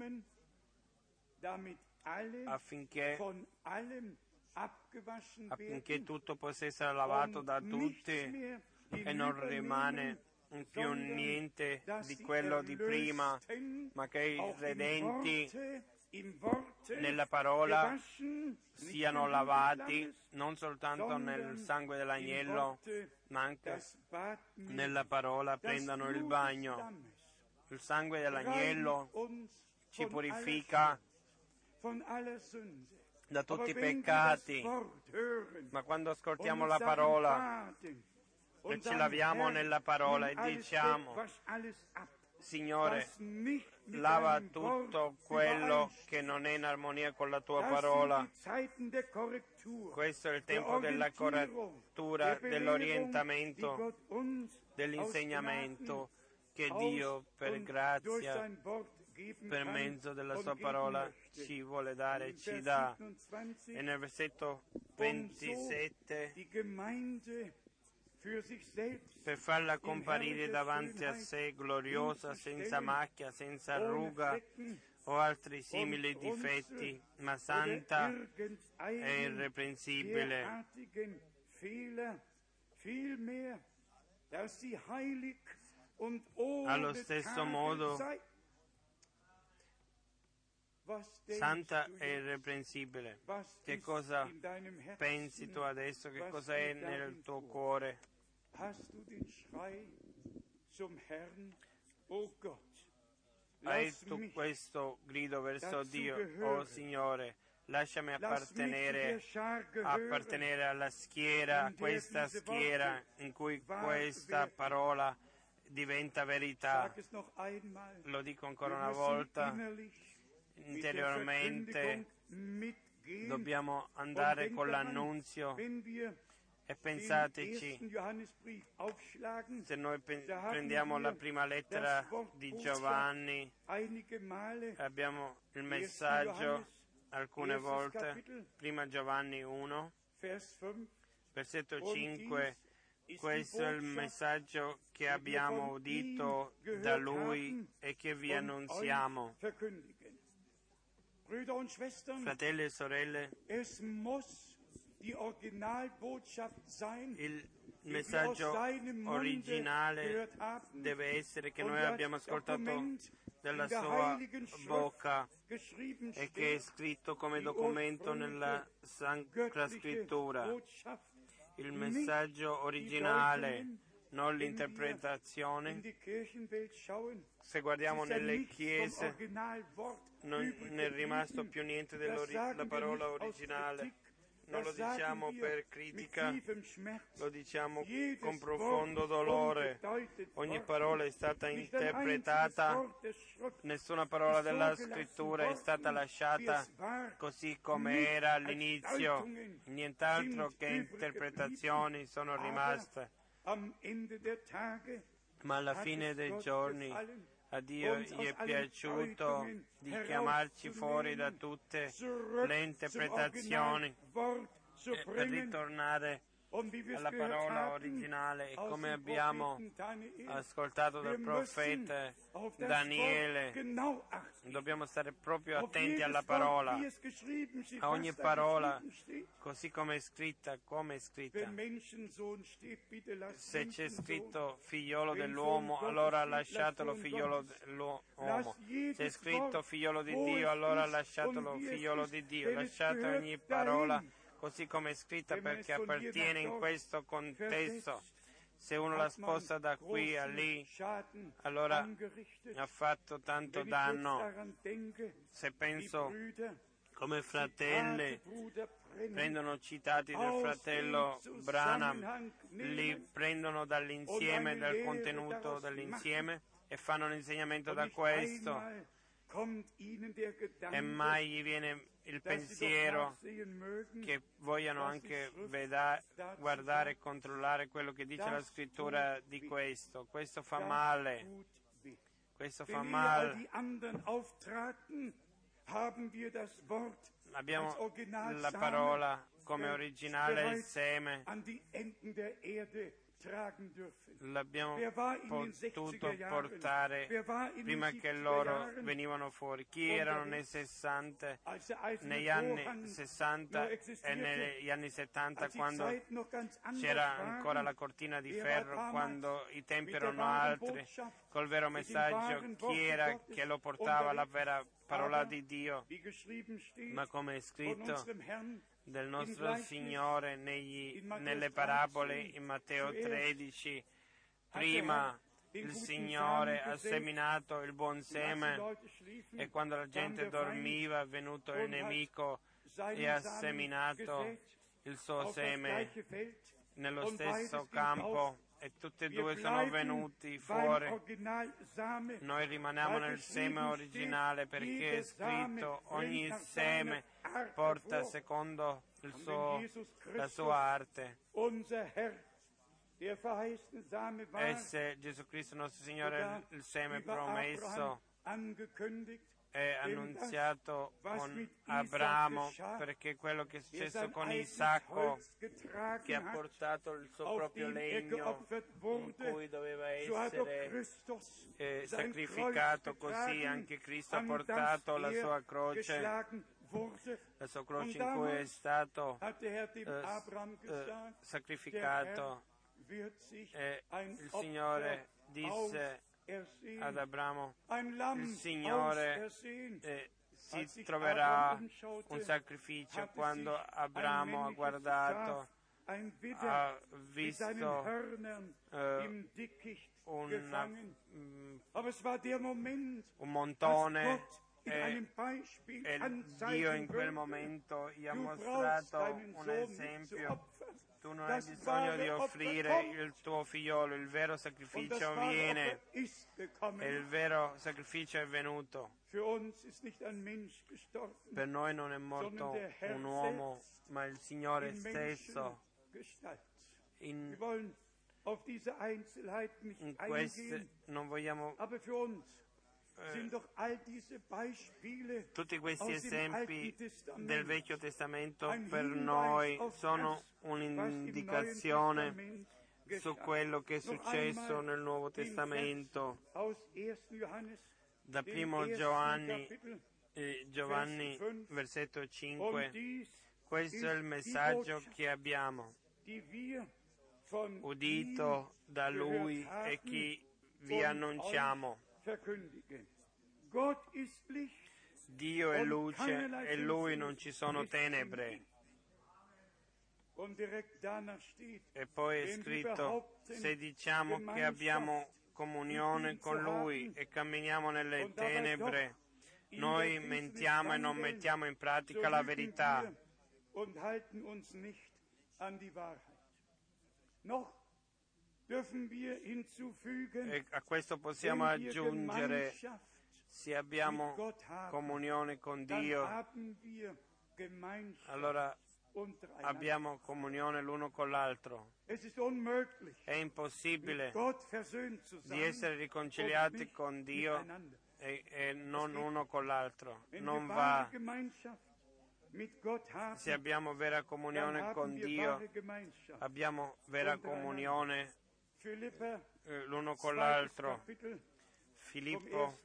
affinché, affinché tutto possa essere lavato da tutti e non rimane più niente di quello di prima, ma che i redenti nella parola siano lavati non soltanto nel sangue dell'agnello, ma anche nella parola prendano il bagno. Il sangue dell'agnello ci purifica da tutti i peccati, ma quando ascoltiamo la parola e ci laviamo nella parola e diciamo: Signore, lava tutto quello che non è in armonia con la tua parola. Questo è il tempo della correttura, dell'orientamento, dell'insegnamento che Dio, per grazia, per mezzo della sua parola, ci vuole dare e ci dà. E nel versetto ventisette, per farla comparire davanti a sé gloriosa, senza macchia, senza ruga o altri simili difetti, ma santa e irreprensibile. Allo stesso modo, santa e irreprensibile. Che cosa pensi tu adesso? Che cosa è nel tuo cuore? Hai tu questo grido verso Dio: oh Signore, lasciami appartenere, appartenere alla schiera, a questa schiera in cui questa parola diventa verità. Lo dico ancora una volta, interiormente dobbiamo andare con l'annunzio. E pensateci, se noi pe- prendiamo la prima lettera di Giovanni, abbiamo il messaggio alcune volte, prima Giovanni uno, versetto cinque, questo è il messaggio che abbiamo udito da Lui e che vi annunziamo. Fratelli e sorelle, il messaggio originale deve essere che noi abbiamo ascoltato dalla sua bocca e che è scritto come documento nella Sacra Scrittura. Il messaggio originale non l'interpretazione. Se guardiamo nelle chiese, non ne è rimasto più niente della parola originale. Non lo diciamo per critica, lo diciamo con profondo dolore. Ogni parola è stata interpretata, nessuna parola della scrittura è stata lasciata così come era all'inizio, nient'altro che interpretazioni sono rimaste. Ma alla fine dei giorni a Dio gli è piaciuto di chiamarci fuori da tutte le interpretazioni e per ritornare alla parola originale. E come abbiamo ascoltato dal profeta Daniele, dobbiamo stare proprio attenti alla parola, a ogni parola, così come è scritta, come è scritta. Se c'è scritto figliolo dell'uomo, allora lasciatelo figliolo dell'uomo. Se è scritto figliolo di Dio, allora lasciatelo figliolo di Dio. Lasciate ogni parola così come è scritta, perché appartiene in questo contesto. Se uno la sposta da qui a lì, allora ha fatto tanto danno. Se penso come fratelli prendono citati del fratello Branham, li prendono dall'insieme, dal contenuto dell'insieme e fanno un insegnamento da questo, e mai gli viene il pensiero che vogliano anche veda, guardare e controllare quello che dice la scrittura di questo. Questo fa male, questo fa male. Abbiamo la parola come originale, il seme, l'abbiamo potuto portare prima che loro venivano fuori. Chi erano nei sessanta, negli anni sessanta e negli anni settanta, quando c'era ancora la cortina di ferro, quando i tempi erano altri, col vero messaggio? Chi era che lo portava, la vera parola di Dio? Ma come è scritto del nostro Signore negli, nelle parabole in Matteo tredici, prima il Signore ha seminato il buon seme e quando la gente dormiva è venuto il nemico e ha seminato il suo seme nello stesso campo, e tutti e due sono venuti fuori. Noi rimaniamo nel seme originale, perché è scritto: ogni seme porta secondo il suo, la sua arte. E se Gesù Cristo nostro Signore, il seme promesso, è annunziato con Abramo, perché quello che è successo con Isacco, che ha portato il suo proprio legno in cui doveva essere eh, sacrificato, così anche Cristo ha portato la sua croce, la sua croce in cui è stato eh, eh, sacrificato. E il Signore disse ad Abramo: il Signore eh, si troverà un sacrificio. Quando Abramo ha guardato, ha visto eh, un, mm, un montone, e, e Dio in quel momento gli ha mostrato un esempio. Tu non hai bisogno di offrire il tuo figliolo, il vero sacrificio viene, e il vero sacrificio è venuto. Per noi non è morto un uomo, ma il Signore stesso. In, in queste non vogliamo Eh, tutti questi esempi del Vecchio Testamento per noi sono un'indicazione su quello che è successo nel Nuovo Testamento. Da primo Giovanni, eh, Giovanni versetto cinque, questo è il messaggio che abbiamo udito da Lui e che vi annunciamo. Dio è luce e Lui non ci sono tenebre. E poi è scritto, se diciamo che abbiamo comunione con Lui e camminiamo nelle tenebre, noi mentiamo e non mettiamo in pratica la verità. E a questo possiamo aggiungere, se abbiamo comunione con Dio, allora abbiamo comunione l'uno con l'altro. È impossibile di essere riconciliati con Dio e, e non uno con l'altro. Non va. Se abbiamo vera comunione con Dio, abbiamo vera comunione eh, l'uno con l'altro. Filippo,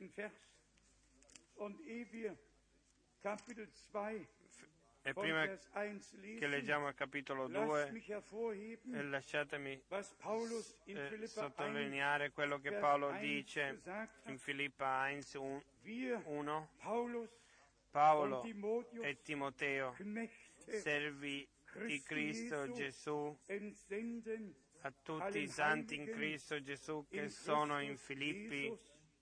e prima che leggiamo il capitolo due, eh, lasciatemi eh, sottolineare quello che Paolo dice in Filippa uno. Paolo e Timoteo, servi di Cristo Gesù, a tutti i santi in Cristo Gesù che sono in Filippi,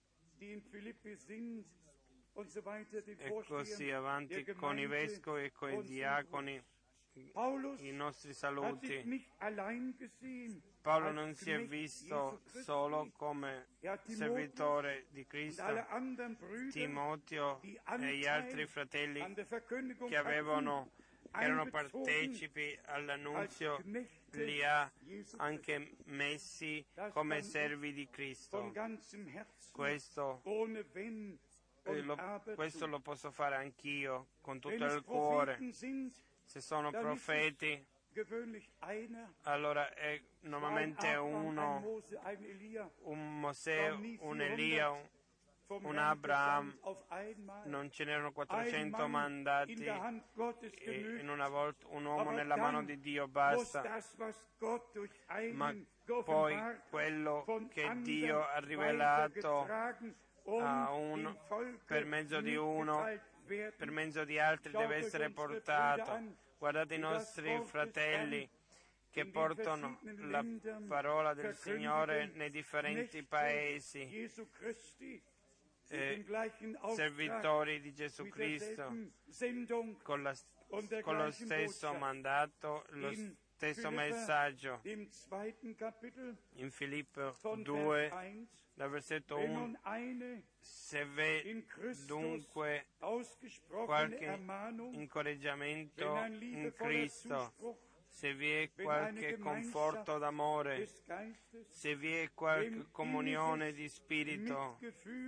e così avanti con i vescovi e con i diaconi, i nostri saluti. Paolo non si è visto solo come servitore di Cristo. Timoteo e gli altri fratelli che avevano, che erano partecipi all'annunzio, li ha anche messi come servi di Cristo. Questo Eh, lo, questo lo posso fare anch'io con tutto il cuore. Se sono profeti, allora è normalmente uno, un Mosè, un Elia, un, un Abraham. Non ce n'erano quattrocento mandati e in una volta un uomo nella mano di Dio basta. Ma poi quello che Dio ha rivelato a uno, per mezzo di uno, per mezzo di altri deve essere portato. Guardate i nostri fratelli che portano la parola del Signore nei differenti paesi, eh, servitori di Gesù Cristo, con, la, con lo stesso mandato, lo stesso messaggio. In Filippo due, dal versetto uno, se v'è dunque qualche incoraggiamento in Cristo, se vi è qualche conforto d'amore, se vi è qualche comunione di spirito,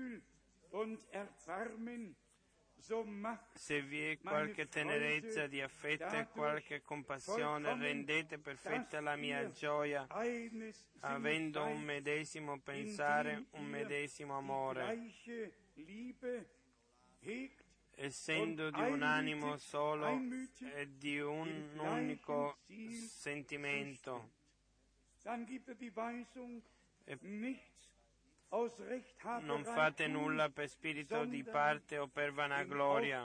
se vi è qualche tenerezza di affetto e qualche compassione, rendete perfetta la mia gioia, avendo un medesimo pensare, un medesimo amore, essendo di un animo solo e di un unico sentimento. E non fate nulla per spirito di parte o per vanagloria,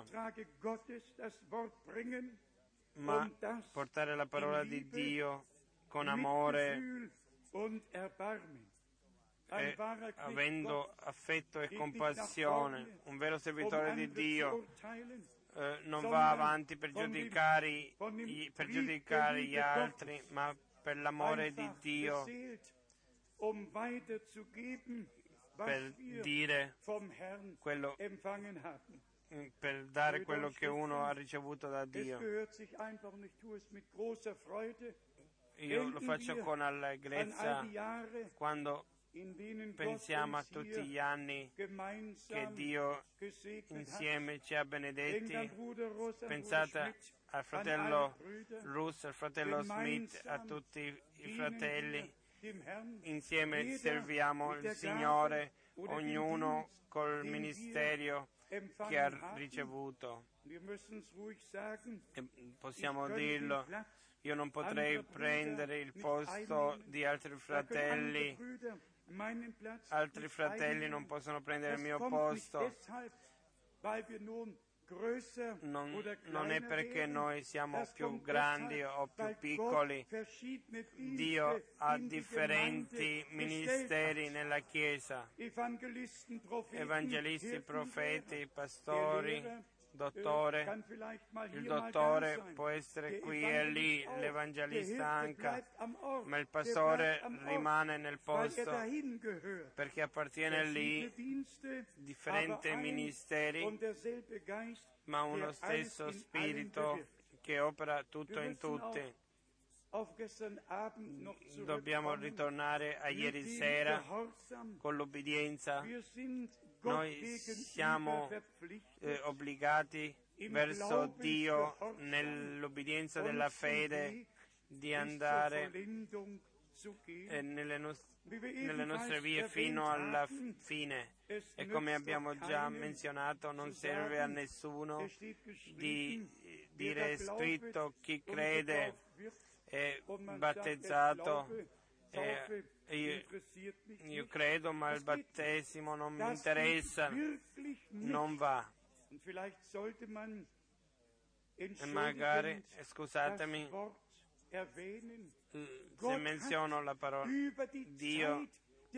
ma portare la parola di Dio con amore e avendo affetto e compassione. Un vero servitore di Dio eh, non va avanti per giudicare, per giudicare gli altri, ma per l'amore di Dio, per dire quello, per dare quello che uno ha ricevuto da Dio. Io lo faccio con allegrezza quando pensiamo a tutti gli anni che Dio insieme ci ha benedetti. Pensate al fratello Russ, al fratello Smith, a tutti i fratelli. Insieme serviamo il Signore, ognuno col ministero che ha ricevuto. E possiamo dirlo, io non potrei prendere il posto di altri fratelli, altri fratelli non possono prendere il mio posto. Non, non è perché noi siamo più grandi o più piccoli. Dio ha differenti ministeri nella Chiesa, evangelisti, profeti, pastori, dottore. Il dottore può essere qui e lì, l'evangelista anche, ma il pastore rimane nel posto perché appartiene lì, differenti ministeri, ma uno stesso spirito che opera tutto in tutti. Dobbiamo ritornare a ieri sera con l'obbedienza. Noi siamo eh, obbligati verso Dio nell'obbedienza della fede di andare eh, nelle, no- nelle nostre vie fino alla fine. E come abbiamo già menzionato, non serve a nessuno di dire è scritto chi crede è battezzato. Eh, io, io credo, ma il battesimo non mi interessa, non va. E magari, scusatemi, se menziono la parola, Dio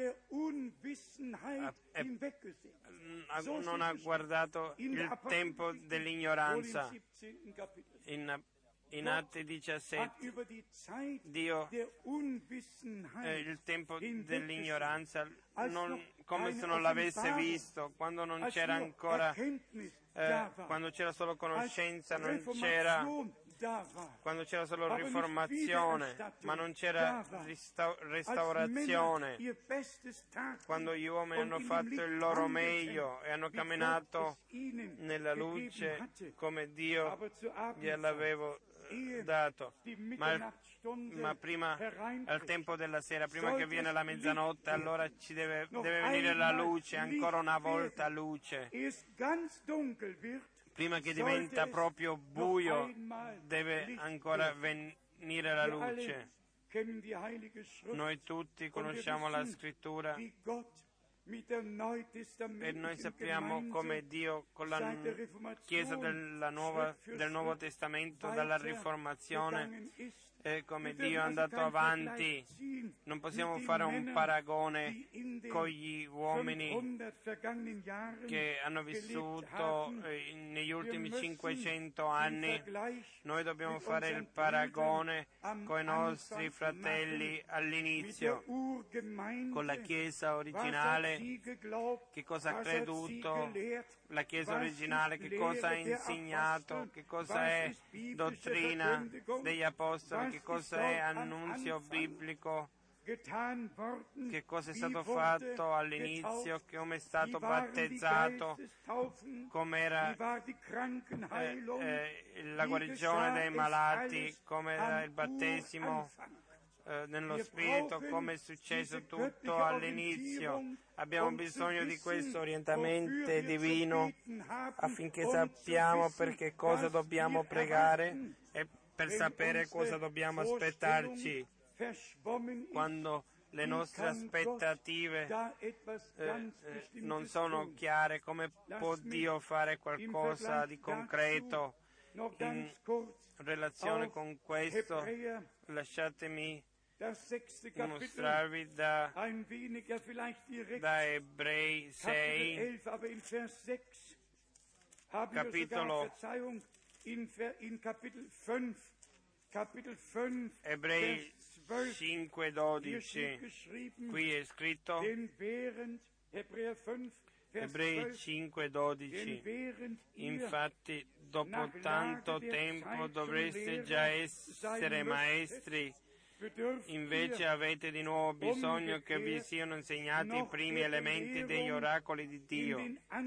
ha, è, non ha guardato il tempo dell'ignoranza. In, in Atti diciassette, Dio eh, il tempo dell'ignoranza, non, come se non l'avesse visto, quando non c'era ancora, eh, quando c'era solo conoscenza, non c'era, quando c'era solo riformazione, ma non c'era rista- restaurazione, quando gli uomini hanno fatto il loro meglio e hanno camminato nella luce come Dio gliel'aveva dato, ma, ma prima, al tempo della sera, prima che viene la mezzanotte, allora ci deve, deve venire la luce, ancora una volta luce. Prima che diventa proprio buio, deve ancora venire la luce. Noi tutti conosciamo la Scrittura e noi sappiamo come Dio con la Chiesa della Nuova, del Nuovo Testamento, dalla Riformazione, e come Dio è andato avanti. Non possiamo fare un paragone con gli uomini che hanno vissuto eh, negli ultimi cinquecento anni. Noi dobbiamo fare il paragone con i nostri fratelli all'inizio, con la Chiesa originale. Che cosa ha creduto la Chiesa originale, che cosa ha insegnato, che cosa è dottrina degli Apostoli, che cosa è annunzio biblico, che cosa è stato fatto all'inizio, come è stato battezzato, com'era eh, eh, la guarigione dei malati, com'era il battesimo eh, nello Spirito, come è successo tutto all'inizio. Abbiamo bisogno di questo orientamento divino affinché sappiamo per che cosa dobbiamo pregare e per sapere cosa dobbiamo aspettarci. Quando le nostre aspettative eh, eh, non sono chiare, come può Dio fare qualcosa di concreto in relazione con questo? Lasciatemi mostrarvi da, da Ebrei sei, capitolo Ebrei cinque dodici, qui è scritto, Ebrei cinque dodici, infatti dopo tanto tempo dovreste già essere maestri, invece avete di nuovo bisogno che vi siano insegnati i primi elementi degli oracoli di Dio.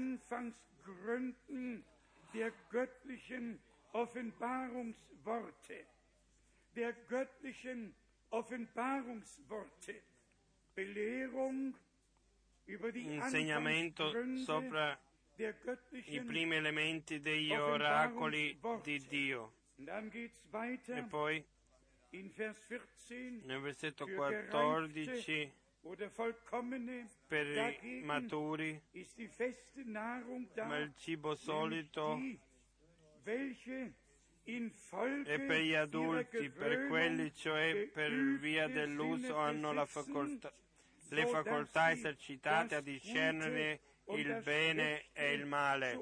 Der göttlichen Offenbarungsworte, Belehrung über die insegnamento sopra i primi elementi degli oracoli di Dio. E poi nel versetto quattordici, per i maturi, ma il cibo solito e per gli adulti, per quelli cioè per via dell'uso hanno la facoltà, le facoltà esercitate a discernere il bene e il male.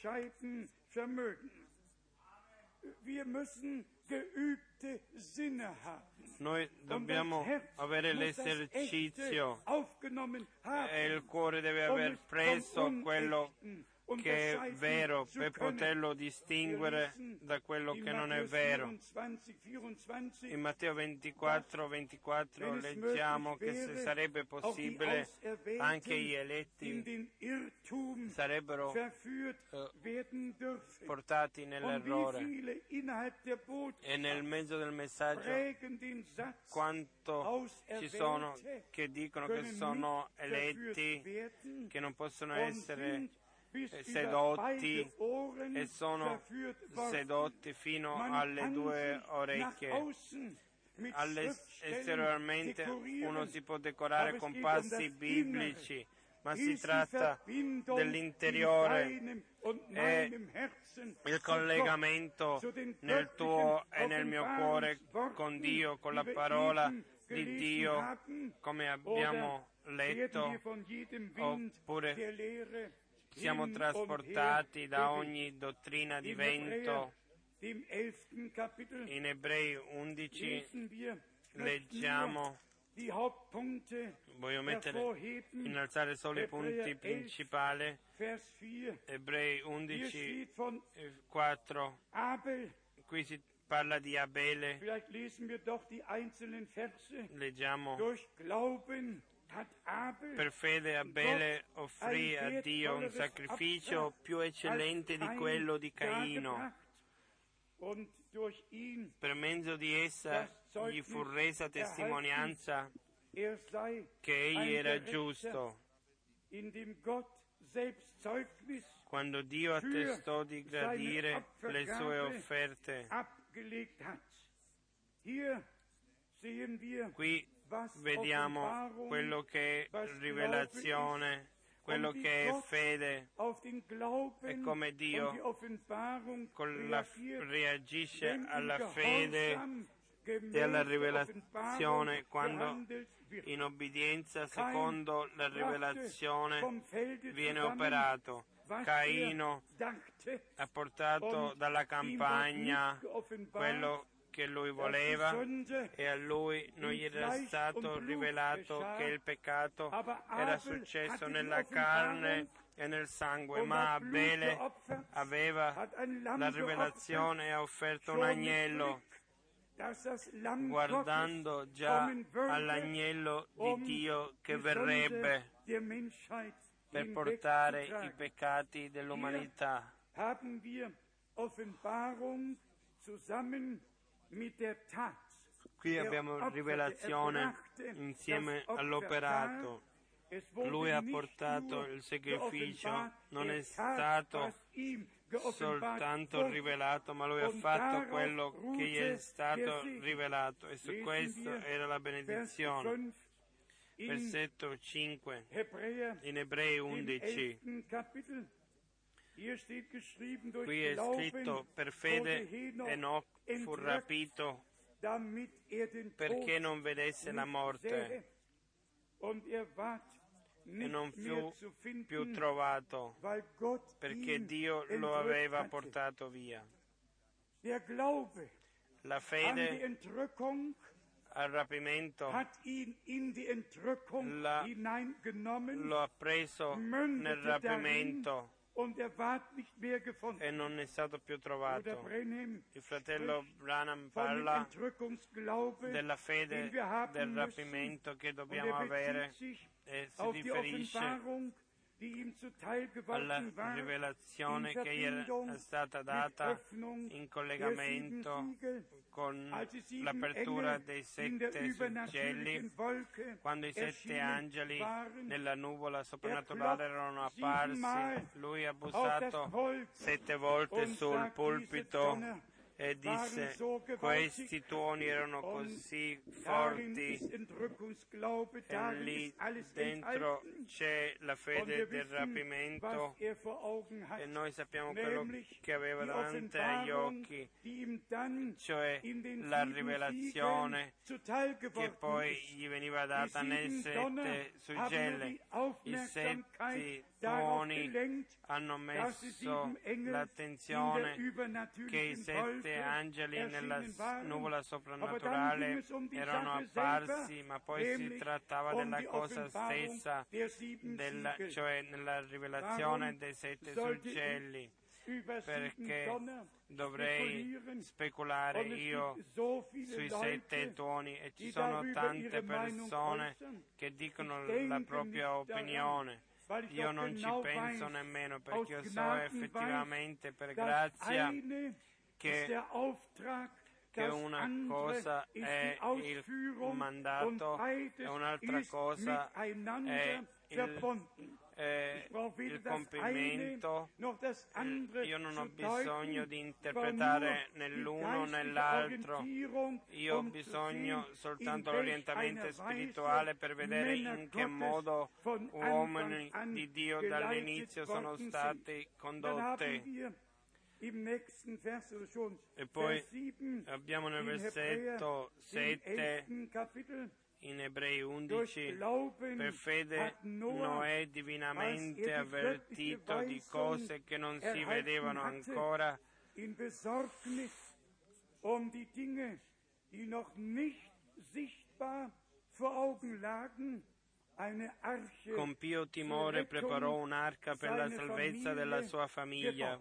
Noi dobbiamo avere l'esercizio e il cuore deve aver preso quello che è vero per poterlo distinguere da quello che non è vero. In Matteo ventiquattro ventiquattro leggiamo che se sarebbe possibile anche gli eletti sarebbero eh, portati nell'errore, e nel mezzo del messaggio quanto ci sono che dicono che sono eletti, che non possono essere sedotti e sono sedotti fino alle due orecchie. Esteriormente uno si può decorare con passi biblici, ma si tratta dell'interiore e il collegamento nel tuo e nel mio cuore con Dio, con la parola di Dio, come abbiamo letto, oppure siamo trasportati da ogni dottrina di vento. In Ebrei undici leggiamo, voglio mettere, innalzare solo i punti principali, Ebrei undici quattro, qui si parla di Abele, leggiamo, per fede Abele offrì a Dio un sacrificio più eccellente di quello di Caino. Per mezzo di essa gli fu resa testimonianza che egli era giusto. Quando Dio attestò di gradire le sue offerte, qui vediamo quello che è rivelazione, quello che è fede, e come Dio con la, reagisce alla fede e alla rivelazione quando in obbedienza secondo la rivelazione viene operato. Caino ha portato dalla campagna quello che lui voleva e a lui non gli era stato rivelato che il peccato era successo nella carne e nel sangue, ma Abele aveva la rivelazione e ha offerto un agnello, guardando già all'agnello di Dio che verrebbe per portare i peccati dell'umanità. Qui abbiamo rivelazione insieme all'operato. Lui ha portato il sacrificio, non è stato soltanto rivelato, ma lui ha fatto quello che gli è stato rivelato, e su questo era la benedizione. Versetto cinque in Ebrei undici. Qui è scritto: per fede Enoch fu rapito perché non vedesse la morte e non fu più trovato perché Dio lo aveva portato via. La fede al rapimento la, lo ha preso nel rapimento e non è stato più trovato. Il fratello Branham parla della fede del rapimento che dobbiamo avere, e si riferisce alla rivelazione che gli era stata data in collegamento con l'apertura dei sette suggelli, quando i sette angeli nella nuvola soprannaturale erano apparsi. Lui ha bussato sette volte sul pulpito e disse: questi tuoni erano così forti, e lì dentro c'è la fede del rapimento, e noi sappiamo quello che aveva davanti agli occhi, cioè la rivelazione che poi gli veniva data nel sette suggelli. I sette tuoni hanno messo l'attenzione che i sette angeli nella nuvola soprannaturale erano apparsi, ma poi si trattava della cosa stessa, della, cioè nella rivelazione dei sette suggelli. Perché dovrei speculare io sui sette tuoni? E ci sono tante persone che dicono la propria opinione. Io non ci penso nemmeno, perché io so effettivamente per grazia che, che una cosa è il mandato e un'altra cosa è il, eh, il compimento. Io non ho bisogno di interpretare né l'uno né l'altro, io ho bisogno soltanto dell'orientamento spirituale per vedere in che modo uomini di Dio dall'inizio sono stati condotti. E poi abbiamo nel versetto sette in Ebrei undici: per fede Noè, divinamente avvertito di cose che non si vedevano ancora, in Besorgnis um die Dinge, die noch nicht sichtbar vor Augen lagen, eine Arche con pio timore preparò un'arca per la salvezza della sua famiglia.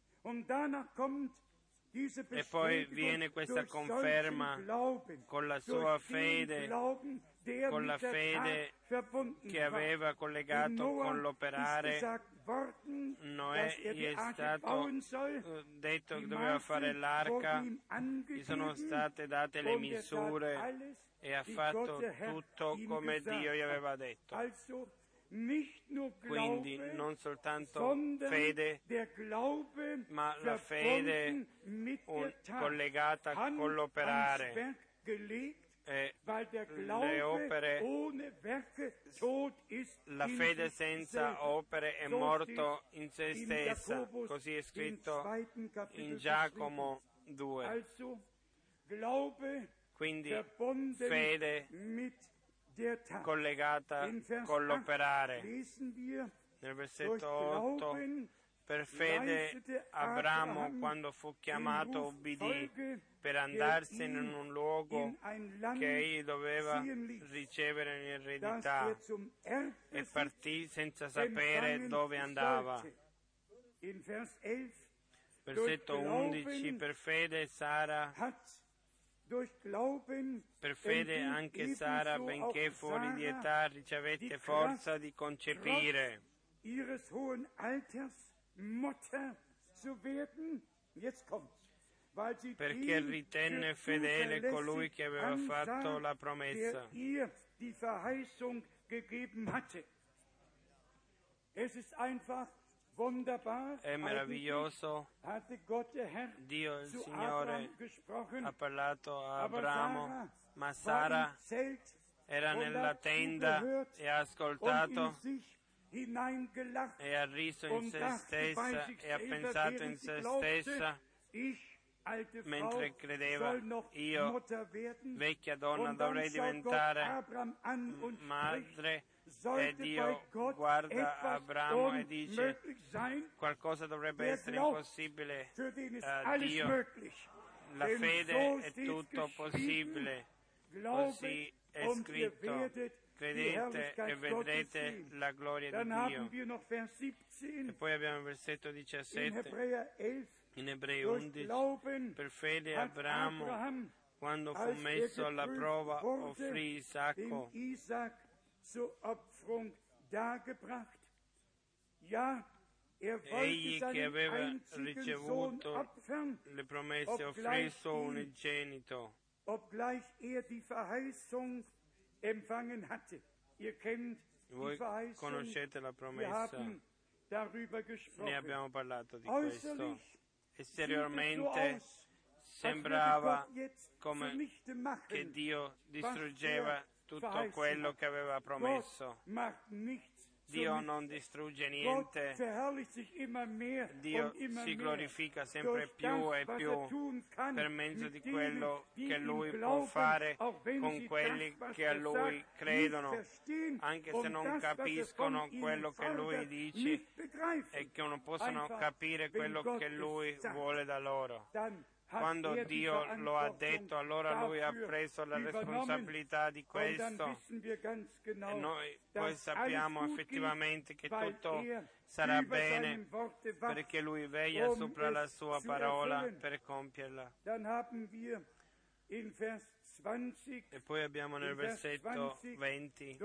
E poi viene questa conferma con la sua fede, con la fede che aveva collegato con l'operare. Noè gli è stato detto che doveva fare l'arca, gli sono state date le misure e ha fatto tutto come Dio gli aveva detto. Quindi non soltanto fede, ma la fede un, collegata con l'operare. E le opere, la fede senza opere è morto in se stessa, così è scritto in Giacomo due. Quindi fede collegata con l'operare. Nel versetto otto: per fede Abramo, quando fu chiamato, ubbidì per andarsene in un luogo che egli doveva ricevere in eredità, e partì senza sapere dove andava. Versetto undici: per fede Sara Per fede anche Sara, benché fuori di età, ricevette forza di concepire. Perché ritenne fedele colui che aveva fatto la promessa. È meraviglioso. Dio, il Signore, ha parlato a Abramo, ma Sara era nella tenda e ha ascoltato e ha riso in se stessa e ha pensato in se stessa mentre credeva: io, vecchia donna, dovrei diventare madre. E Dio guarda Abramo e dice: qualcosa dovrebbe essere impossibile a Dio. La fede è tutto possibile. Così è scritto: credete e vedrete la gloria di Dio. E poi abbiamo il versetto diciassette in Ebrei undici: per fede Abramo, quando fu messo alla prova, offrì Isacco. Egli che aveva ricevuto le promesse offrì il suo unigenito. Voi conoscete la promessa, ne abbiamo parlato di questo. Esteriormente sembrava come che Dio distruggeva tutto quello che aveva promesso. Dio non distrugge niente, Dio si glorifica sempre più e più per mezzo di quello che Lui può fare con quelli che a Lui credono, anche se non capiscono quello che Lui dice e che non possono capire quello che Lui vuole da loro. Quando Dio lo ha detto, allora Lui ha preso la responsabilità di questo e noi poi sappiamo effettivamente che tutto sarà bene perché Lui veglia sopra la Sua parola per compierla. E poi abbiamo nel versetto venti: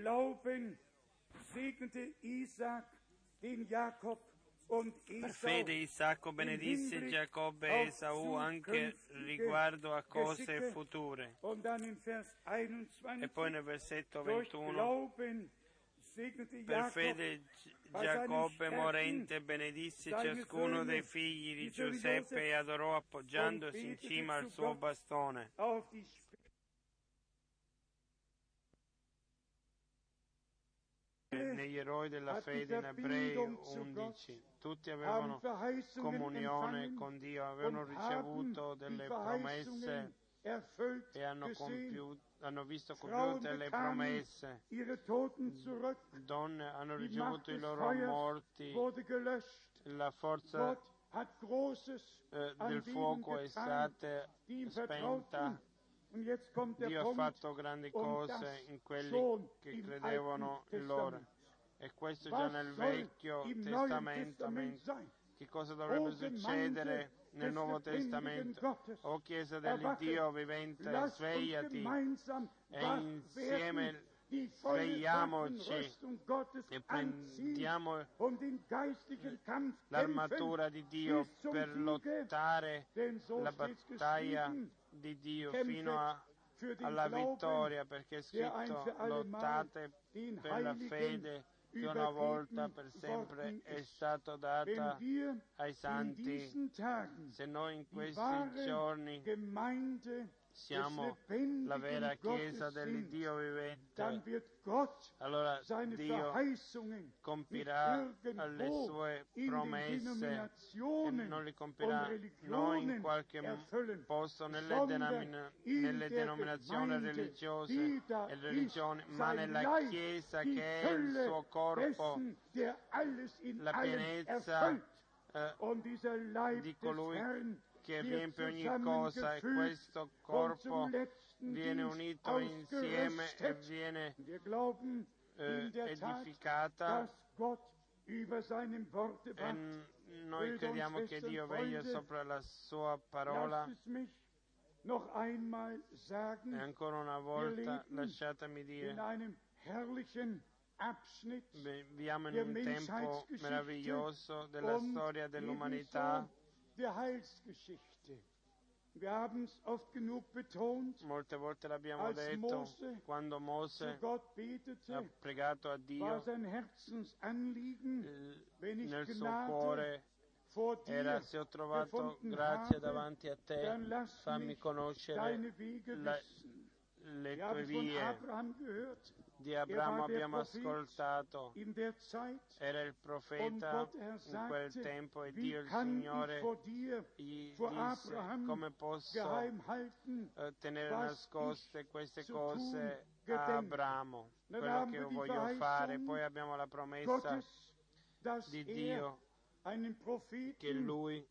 per fede Isacco benedisse Giacobbe e Esaù anche riguardo a cose future. E poi nel versetto ventuno: per fede Giacobbe morente benedisse ciascuno dei figli di Giuseppe e adorò appoggiandosi in cima al suo bastone. Negli eroi della fede in Ebrei undici, tutti avevano comunione con Dio, avevano ricevuto delle promesse e hanno, compiuto, hanno visto compiute le promesse. Donne hanno ricevuto i loro morti, la forza eh, del fuoco è stata spenta. Dio ha fatto grandi cose in quelli che credevano in loro. E questo già nel Vecchio Testamento. Che cosa dovrebbe succedere nel Nuovo Testamento? O Chiesa dell'Iddio vivente, svegliati e insieme svegliamoci e prendiamo l'armatura di Dio per lottare la battaglia di Dio fino a, alla vittoria, perché è scritto: lottate per la fede che una volta per sempre è stata data ai santi. Se noi in questi giorni siamo la vera Chiesa dell'Iddio vivente, allora Dio compirà le sue promesse e non le compirà non in qualche posto nelle, denomina- nelle denominazioni religiose e religioni, ma nella Chiesa che è il suo corpo, la pienezza eh, di colui che riempie ogni cosa, e questo corpo viene unito insieme e viene eh, edificata, e noi crediamo che Dio veglia sopra la sua parola. E ancora una volta lasciatemi dire, viviamo in un tempo meraviglioso della storia dell'umanità. Molte volte l'abbiamo detto, quando Mosè ha pregato a Dio, nel suo cuore era: se ho trovato grazia davanti a te, fammi conoscere la, le tue vie. Di Abramo abbiamo ascoltato, era il profeta in quel tempo, e Dio il Signore gli disse: come posso eh, tenere nascoste queste cose a Abramo, quello che io voglio fare. Poi abbiamo la promessa di Dio che Lui,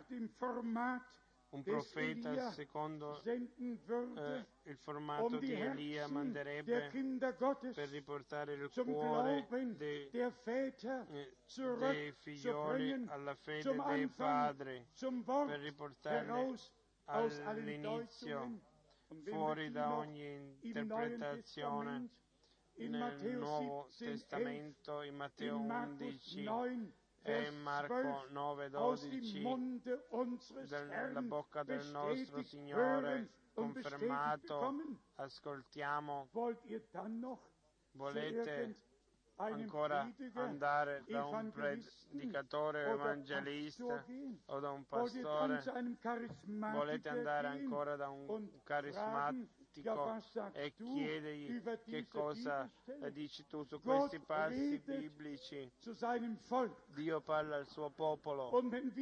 un profeta secondo eh, il formato di Elia, manderebbe per riportare il cuore dei, eh, dei figlioli alla fede dei padri, per riportarli all'inizio, fuori da ogni interpretazione. Nel Nuovo Testamento, in Matteo undici e in Marco nove dodici, dalla bocca del nostro Signore confermato, ascoltiamo. Volete ancora andare da un predicatore o evangelista o da un pastore, volete andare ancora da un carismatico e chiedergli che cosa dici tu su questi passi biblici. Dio parla al suo popolo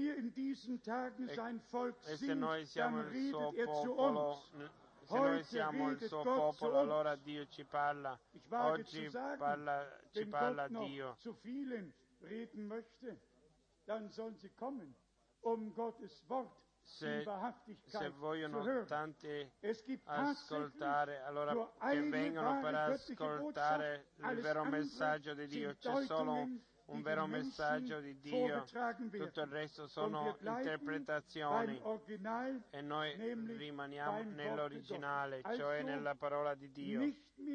e, e se noi siamo il suo popolo, se noi siamo il suo popolo, allora Dio ci parla. Oggi parla, ci parla Dio. Se, se vogliono tanti ascoltare, allora che vengano per ascoltare il vero messaggio di Dio. C'è solo un, un vero messaggio di Dio, tutto il resto sono interpretazioni e noi rimaniamo nell'originale, cioè nella parola di Dio.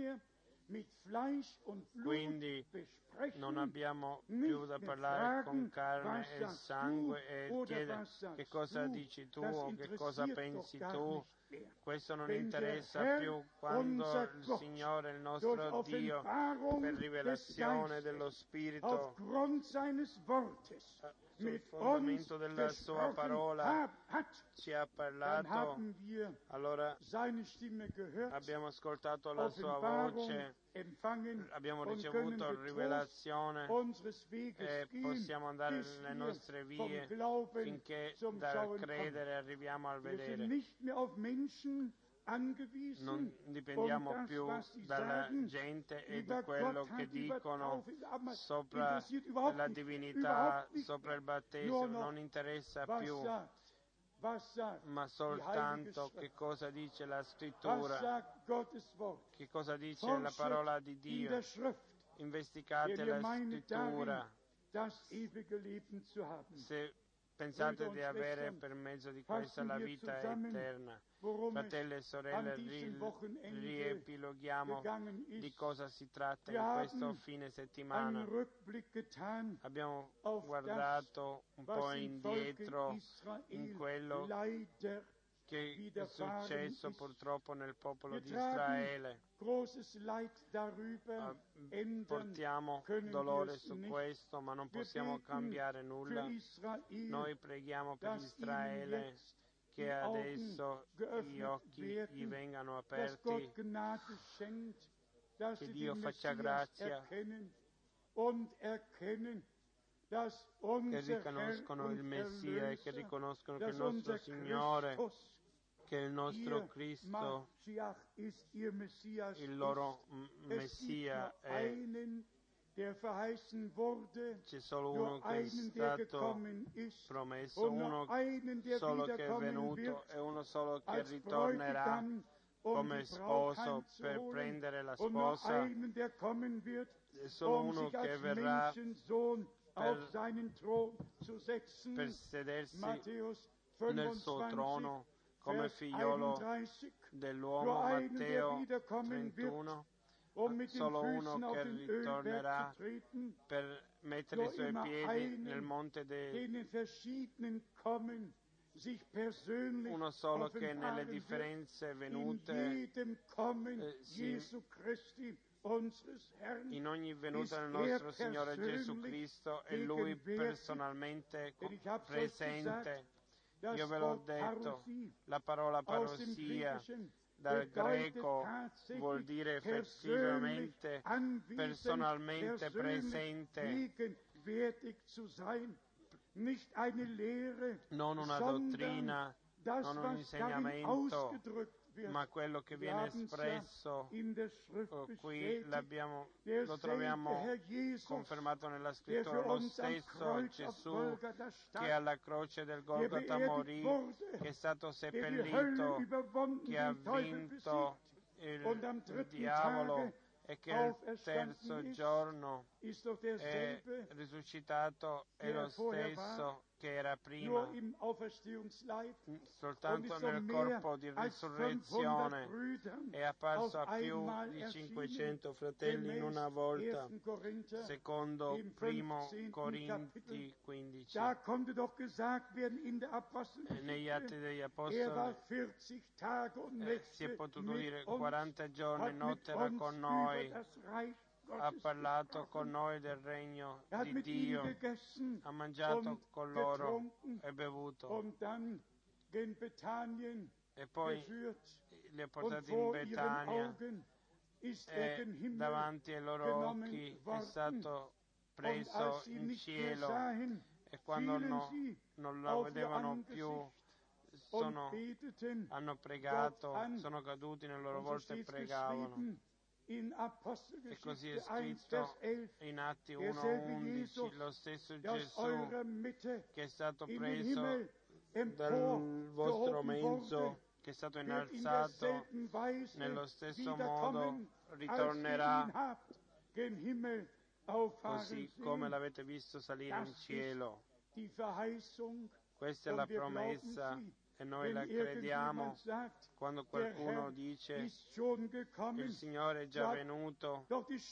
Quindi non abbiamo più da parlare con carne e sangue e chiedere che cosa dici tu o che cosa pensi tu. Questo non interessa più quando il Signore, il nostro Dio, per rivelazione dello Spirito, sul fondamento della Sua parola, ci ha parlato, allora abbiamo ascoltato la Sua voce, abbiamo ricevuto rivelazione e possiamo andare nelle nostre vie finché dal credere arriviamo al vedere. Non dipendiamo più dalla gente e di quello che dicono sopra la divinità, sopra il battesimo, non interessa più, ma soltanto che cosa dice la Scrittura, che cosa dice la parola di Dio. Investigate la Scrittura. Se pensate di avere per mezzo di questa la vita eterna. Fratelli e sorelle, ri- riepiloghiamo di cosa si tratta in questo fine settimana. Abbiamo guardato un po' indietro in quello che è successo purtroppo nel popolo di Israele. Portiamo dolore su questo, ma non possiamo cambiare nulla. Noi preghiamo per Israele che adesso gli occhi gli vengano aperti, che Dio faccia grazia, che riconoscono il Messia e che riconoscono che il nostro Signore, che il nostro Cristo, il loro Messia è. C'è solo uno che è stato promesso, uno solo che è venuto e uno solo che ritornerà come sposo per prendere la sposa. C'è solo uno che verrà per, per sedersi nel suo trono come figliolo dell'uomo. Matteo trentuno. Solo uno che ritornerà per mettere i suoi piedi nel monte dei... Uno solo che nelle differenze venute eh, si... in ogni venuta del nostro Signore Gesù Cristo è Lui personalmente presente. Io ve l'ho detto, la parola parousia dal greco vuol dire effettivamente, personalmente presente, non una dottrina, non un insegnamento, ma quello che viene espresso qui l'abbiamo, lo troviamo confermato nella Scrittura. Lo stesso Gesù che alla croce del Golgota morì, che è stato seppellito, che ha vinto il, il diavolo e che al terzo giorno è risuscitato, è lo stesso che era prima, soltanto nel corpo di risurrezione. È apparso a più di cinquecento fratelli in una volta, secondo primo Corinti quindici. E negli Atti degli Apostoli eh, si è potuto dire quaranta giorni notte era con noi ha parlato con noi del regno di Dio, ha mangiato con loro e bevuto, e poi li ha portati in Betania, e davanti ai loro occhi è stato preso in cielo, e quando no, non lo vedevano più, sono, hanno pregato, sono caduti nelle loro volte e pregavano. E così è scritto in Atti uno undici, lo stesso Gesù che è stato preso dal vostro mezzo, che è stato innalzato, nello stesso modo ritornerà, così come l'avete visto salire in cielo. Questa è la promessa e noi la crediamo. Quando qualcuno dice il Signore è già venuto,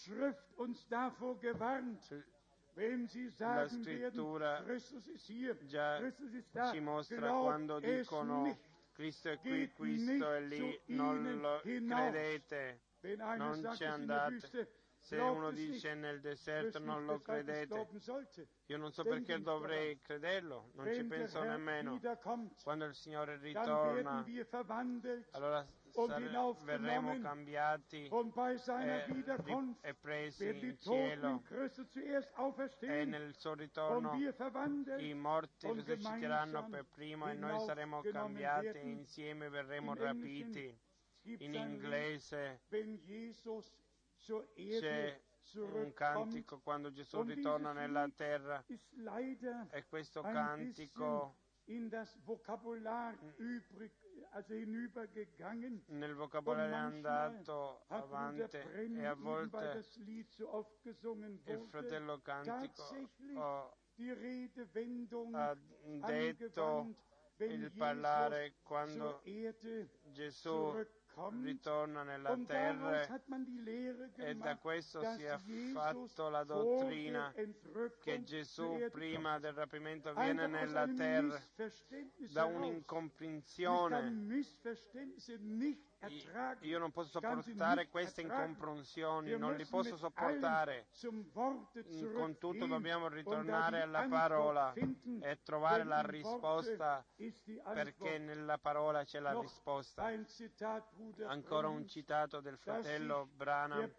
la Scrittura già ci mostra, quando dicono Cristo è qui, Cristo è lì, non lo credete, non ci andate. Se uno dice nel deserto non lo credete, io non so perché dovrei crederlo, non ci penso nemmeno. Quando il Signore ritorna, allora sare- verremo cambiati e, ri- e presi in cielo, e nel suo ritorno i morti risusciteranno per primo e noi saremo cambiati e insieme verremo rapiti. In inglese c'è un cantico quando Gesù ritorna nella terra, e questo cantico nel vocabolario è andato avanti, e a volte il fratello cantico oh, ha detto il parlare quando Gesù ritorna nella terra, e da questo si è fatto la dottrina che Gesù prima del rapimento viene nella terra, da un'incomprensione. Io non posso sopportare queste incomprensioni, non li posso sopportare. Con tutto dobbiamo ritornare alla parola e trovare la risposta, perché nella parola c'è la risposta. Ancora un citato del fratello Branham,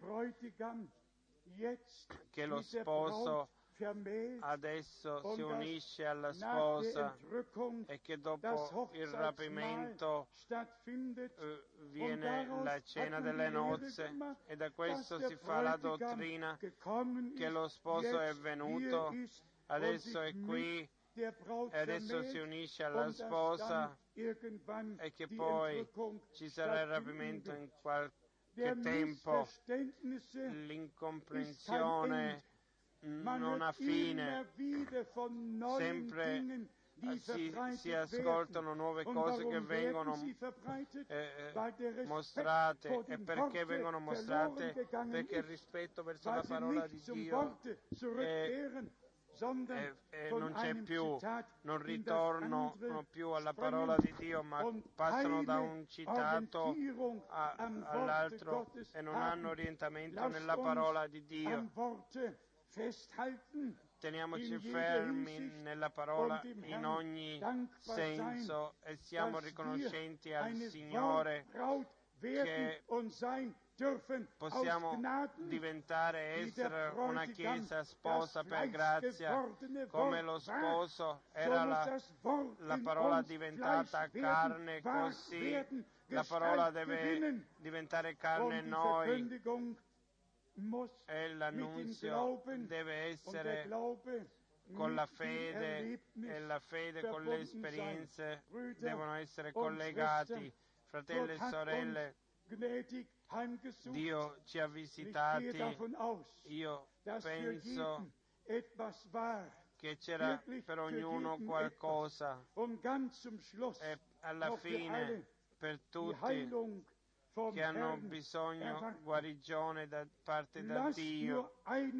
che lo sposo adesso si unisce alla sposa, e che dopo il rapimento eh, viene la cena delle nozze, e da questo si fa la dottrina che lo sposo è venuto, adesso è qui e adesso si unisce alla sposa, e che poi ci sarà il rapimento in qualche tempo. L'incomprensione non ha fine, sempre si, si ascoltano nuove cose che vengono eh, mostrate. E perché vengono mostrate? Perché il rispetto verso la parola di Dio è, E, e non c'è più, non ritornano più alla parola di Dio, ma passano da un citato a, all'altro e non hanno orientamento nella parola di Dio. Teniamoci fermi nella parola in ogni senso, e siamo riconoscenti al Signore che possiamo diventare, essere una chiesa sposa per grazia, come lo sposo era la, la parola diventata carne, così la parola deve diventare carne in noi, e l'annunzio deve essere con la fede, e la fede con le esperienze devono essere collegati. Fratelli e sorelle, Dio ci ha visitati. Io penso che c'era per ognuno qualcosa, e alla fine per tutti che hanno bisogno guarigione da parte da Dio.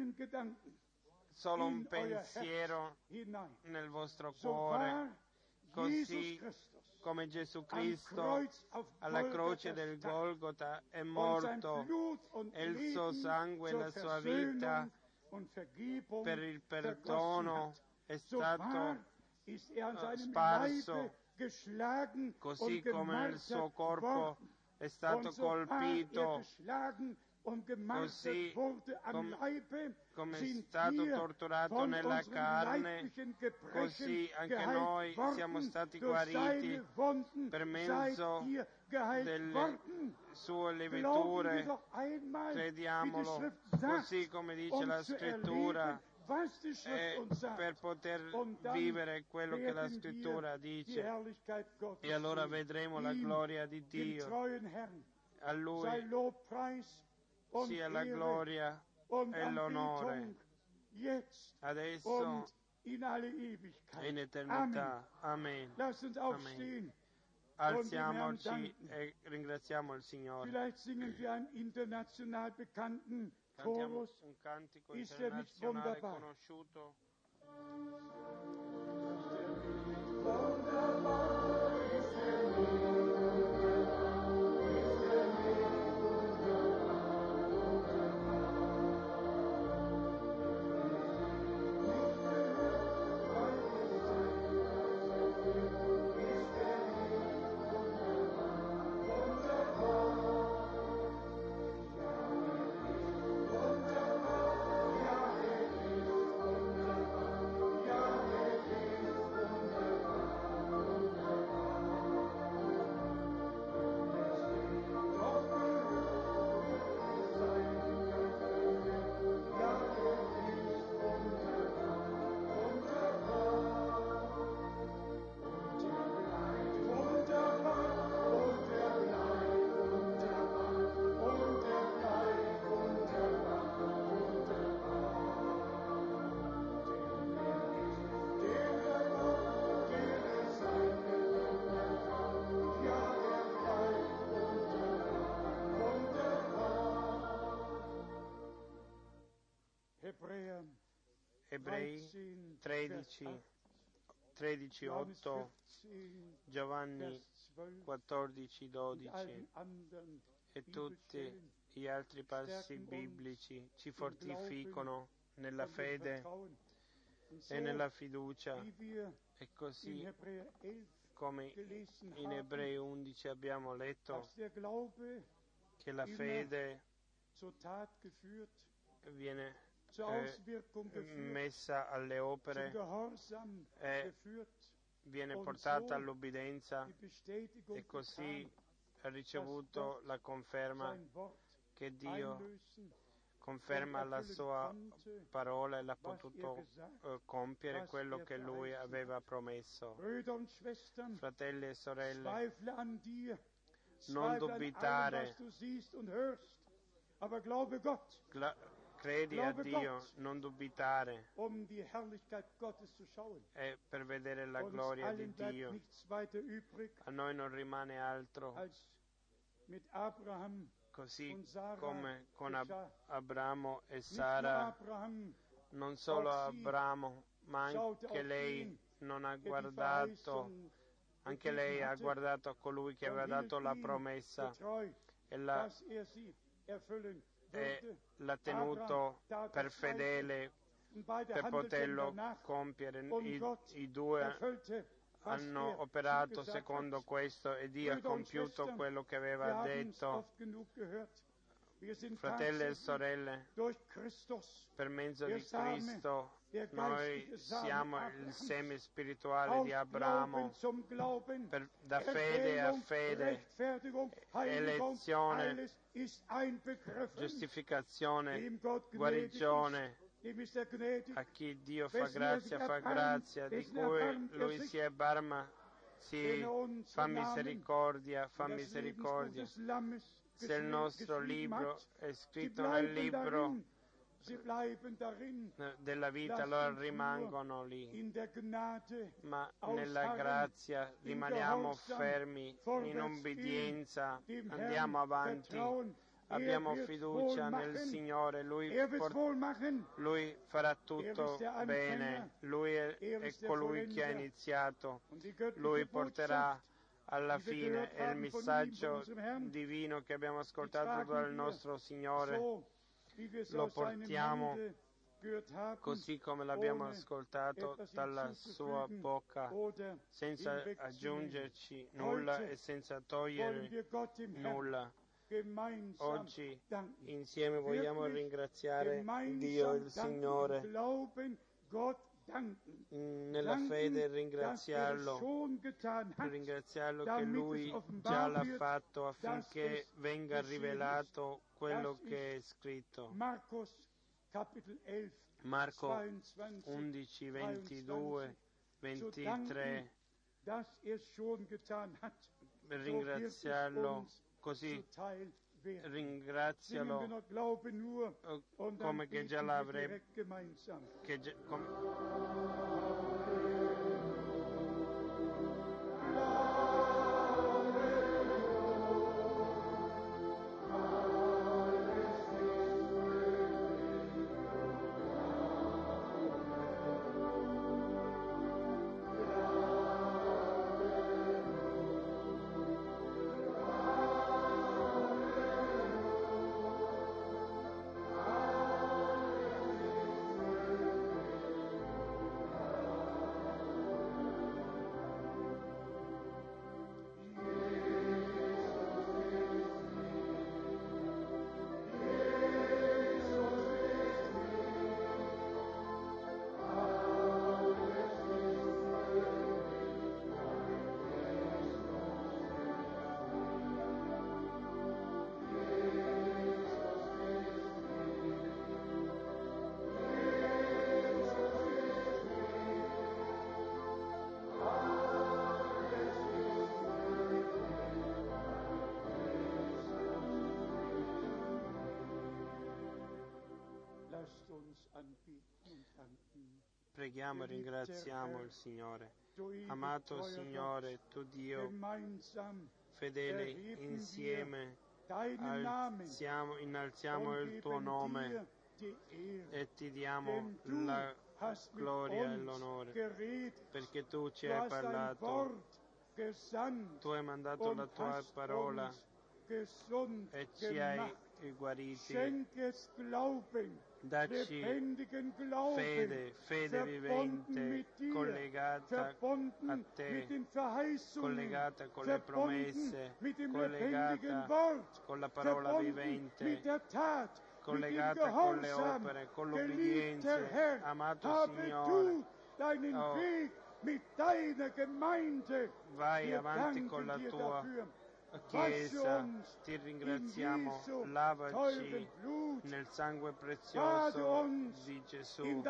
Solo un pensiero nel vostro cuore. Così come Gesù Cristo alla croce del Golgota è morto e il suo sangue e la sua vita per il perdono è stato uh, sparso, così come il suo corpo è stato colpito, così com- come è stato torturato nella carne, così anche noi siamo stati guariti per mezzo delle sue lividure. Crediamolo, così come dice la Scrittura, e per poter vivere quello che la Scrittura dice. E allora vedremo la gloria di Dio. A Lui sia la gloria e l'onore, adesso e in eternità. Amen. Amen. Alziamoci e ringraziamo il Signore. Cantiamo un cantico internazionale conosciuto. Ebrei tredici, tredici, otto, Giovanni quattordici, dodici e tutti gli altri passi biblici ci fortificano nella fede e nella fiducia, e così come in Ebrei undici abbiamo letto che la fede viene eh, messa alle opere e viene portata all'obbedienza, e così ha ricevuto la conferma che Dio conferma la sua parola e l'ha potuto uh, compiere quello che Lui aveva promesso. Fratelli e sorelle, non dubitare, Gla- credi a Dio, non dubitare, e per vedere la gloria di Dio. A noi non rimane altro, così come con Ab- Abramo e Sara. Non solo Abramo, ma anche lei non ha guardato, anche lei ha guardato a colui che aveva dato la promessa e l'ha, e l'ha tenuto per fedele per poterlo compiere. I, i due hanno operato secondo questo e Dio ha compiuto quello che aveva detto. Fratelli e sorelle, per mezzo di Cristo noi siamo il seme spirituale di Abramo, per, da fede a fede, elezione, giustificazione, guarigione. A chi Dio fa grazia, fa grazia, di cui Lui si erbarma, si fa misericordia, fa misericordia. Se il nostro libro è scritto nel libro della vita, allora rimangono lì, ma nella grazia rimaniamo fermi, in obbedienza, andiamo avanti. Abbiamo fiducia nel Signore, Lui, por- Lui farà tutto bene, Lui è, è colui che ha iniziato, Lui porterà alla fine è il messaggio divino che abbiamo ascoltato dal nostro Signore. Lo portiamo così come l'abbiamo ascoltato dalla sua bocca, senza aggiungerci nulla e senza togliere nulla. Oggi insieme vogliamo ringraziare Dio il Signore, nella fede ringraziarlo, ringraziarlo che Lui già l'ha fatto affinché venga rivelato quello che è scritto. Marco undici, ventidue, ventitré, ringraziarlo così, ringrazialo come che già l'avrebbe, che già, come... Preghiamo e ringraziamo il Signore. Amato Signore, tu Dio, fedele, insieme alziamo, innalziamo il tuo nome e ti diamo la gloria e l'onore, perché tu ci hai parlato, tu hai mandato la tua parola e ci hai guariti. Dacci fede, fede vivente, collegata a te, collegata con le promesse, collegata con la parola vivente, collegata con le opere, con l'obbedienza. Amato Signore, oh, vai avanti con la tua Chiesa, ti ringraziamo, lavaci nel sangue prezioso di Gesù,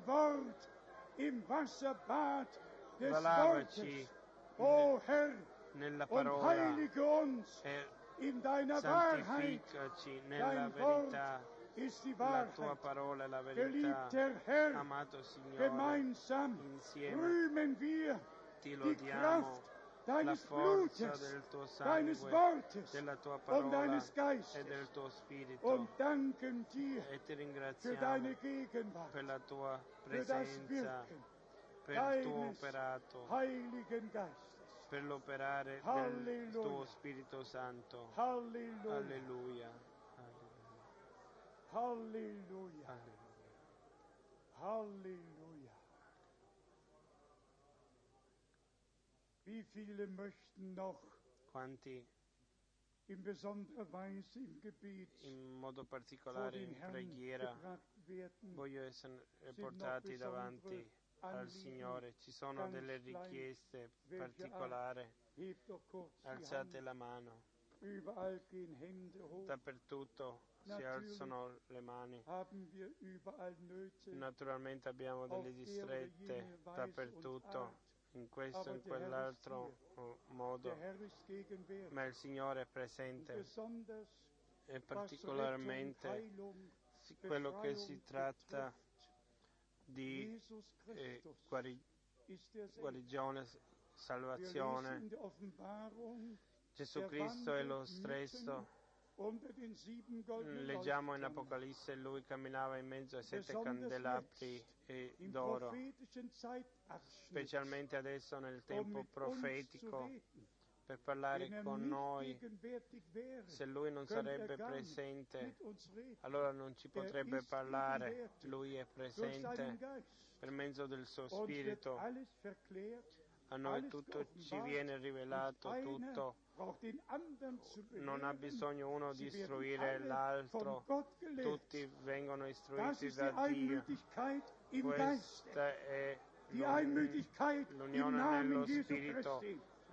lavaci nella parola e santificaci nella verità. La tua parola è la verità. Amato Signore, insieme ti lodiamo. La forza del tuo sangue, della tua parola e del tuo spirito, e ti ringraziamo per la tua presenza, per il tuo operato, per l'operare del tuo Spirito Santo. Alleluia. Alleluia. Alleluia. Wie viele möchten noch Quanti in besonderer Weise im Gebet in modo particolare in preghiera voglio essere portati davanti al Signore? Ci sono delle richieste particolari? Alzate la mano. Dappertutto si alzano le mani. Naturalmente abbiamo delle distrette dappertutto, in questo e in quell'altro modo, ma il Signore è presente, e particolarmente quello che si tratta di eh, guari- guarigione, salvazione. Gesù Cristo è lo stesso. Leggiamo in Apocalisse, lui camminava in mezzo ai sette candelabri d'oro, specialmente adesso nel tempo profetico, per parlare con noi. Se Lui non sarebbe presente, allora non ci potrebbe parlare. Lui è presente per mezzo del suo Spirito. A noi tutto ci viene rivelato, tutto. Non ha bisogno uno di istruire l'altro. Tutti vengono istruiti da Dio. Questa è l'unione nello Spirito,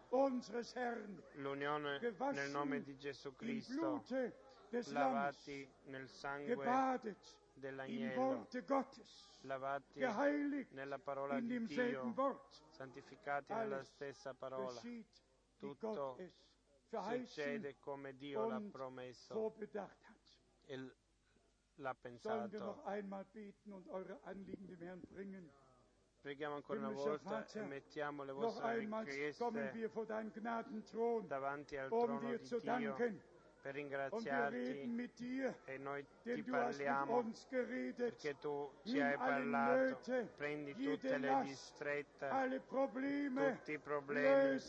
l'unione nel nome di Gesù Cristo, lavati nel sangue dell'agnello, lavati nella parola di Dio, santificati nella stessa parola. Tutto succede come Dio l'ha promesso e l'ha pensato. Preghiamo ancora una volta e mettiamo le vostre richieste davanti al trono di Dio per ringraziarti, e noi ti parliamo perché tu ci hai parlato. Prendi tutte le distrette, tutti i problemi.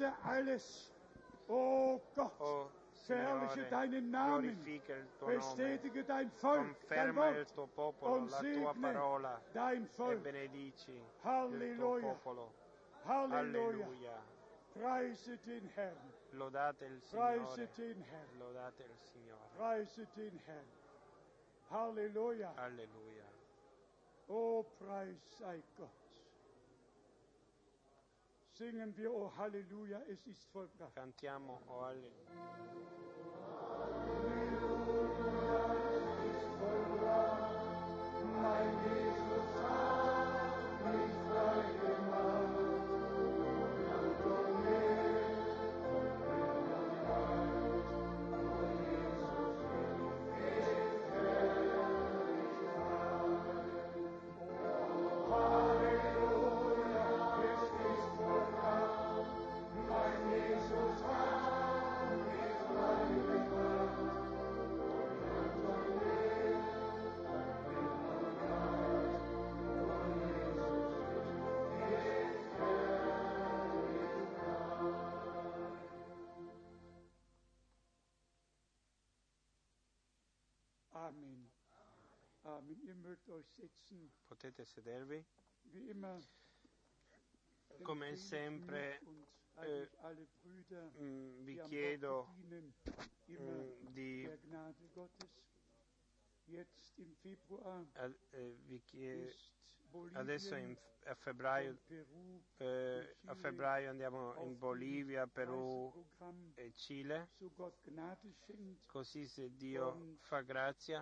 Oh Signore, glorifica il tuo nome, conferma il tuo popolo, la tua parola, e benedici il tuo popolo. Alleluia. Lodate il Signore, lodate il Signore. Alleluia. Alleluia. Oh, preis sei Gott. Singen wir, oh Halleluja, es ist vollbracht. Cantiamo, oh Alleluia. Halleluja, es ist vollbracht. Mein Jesus hat mich frei gemacht. Amen. Amen. Ihr mögt euch setzen. Potete sedervi. Wie immer. Come sempre eh, mh, vi chiedo mh, di ad, eh, vi chiedo, adesso in, a, febbraio, eh, a febbraio andiamo in Bolivia, Perù e Cile, così se Dio fa grazia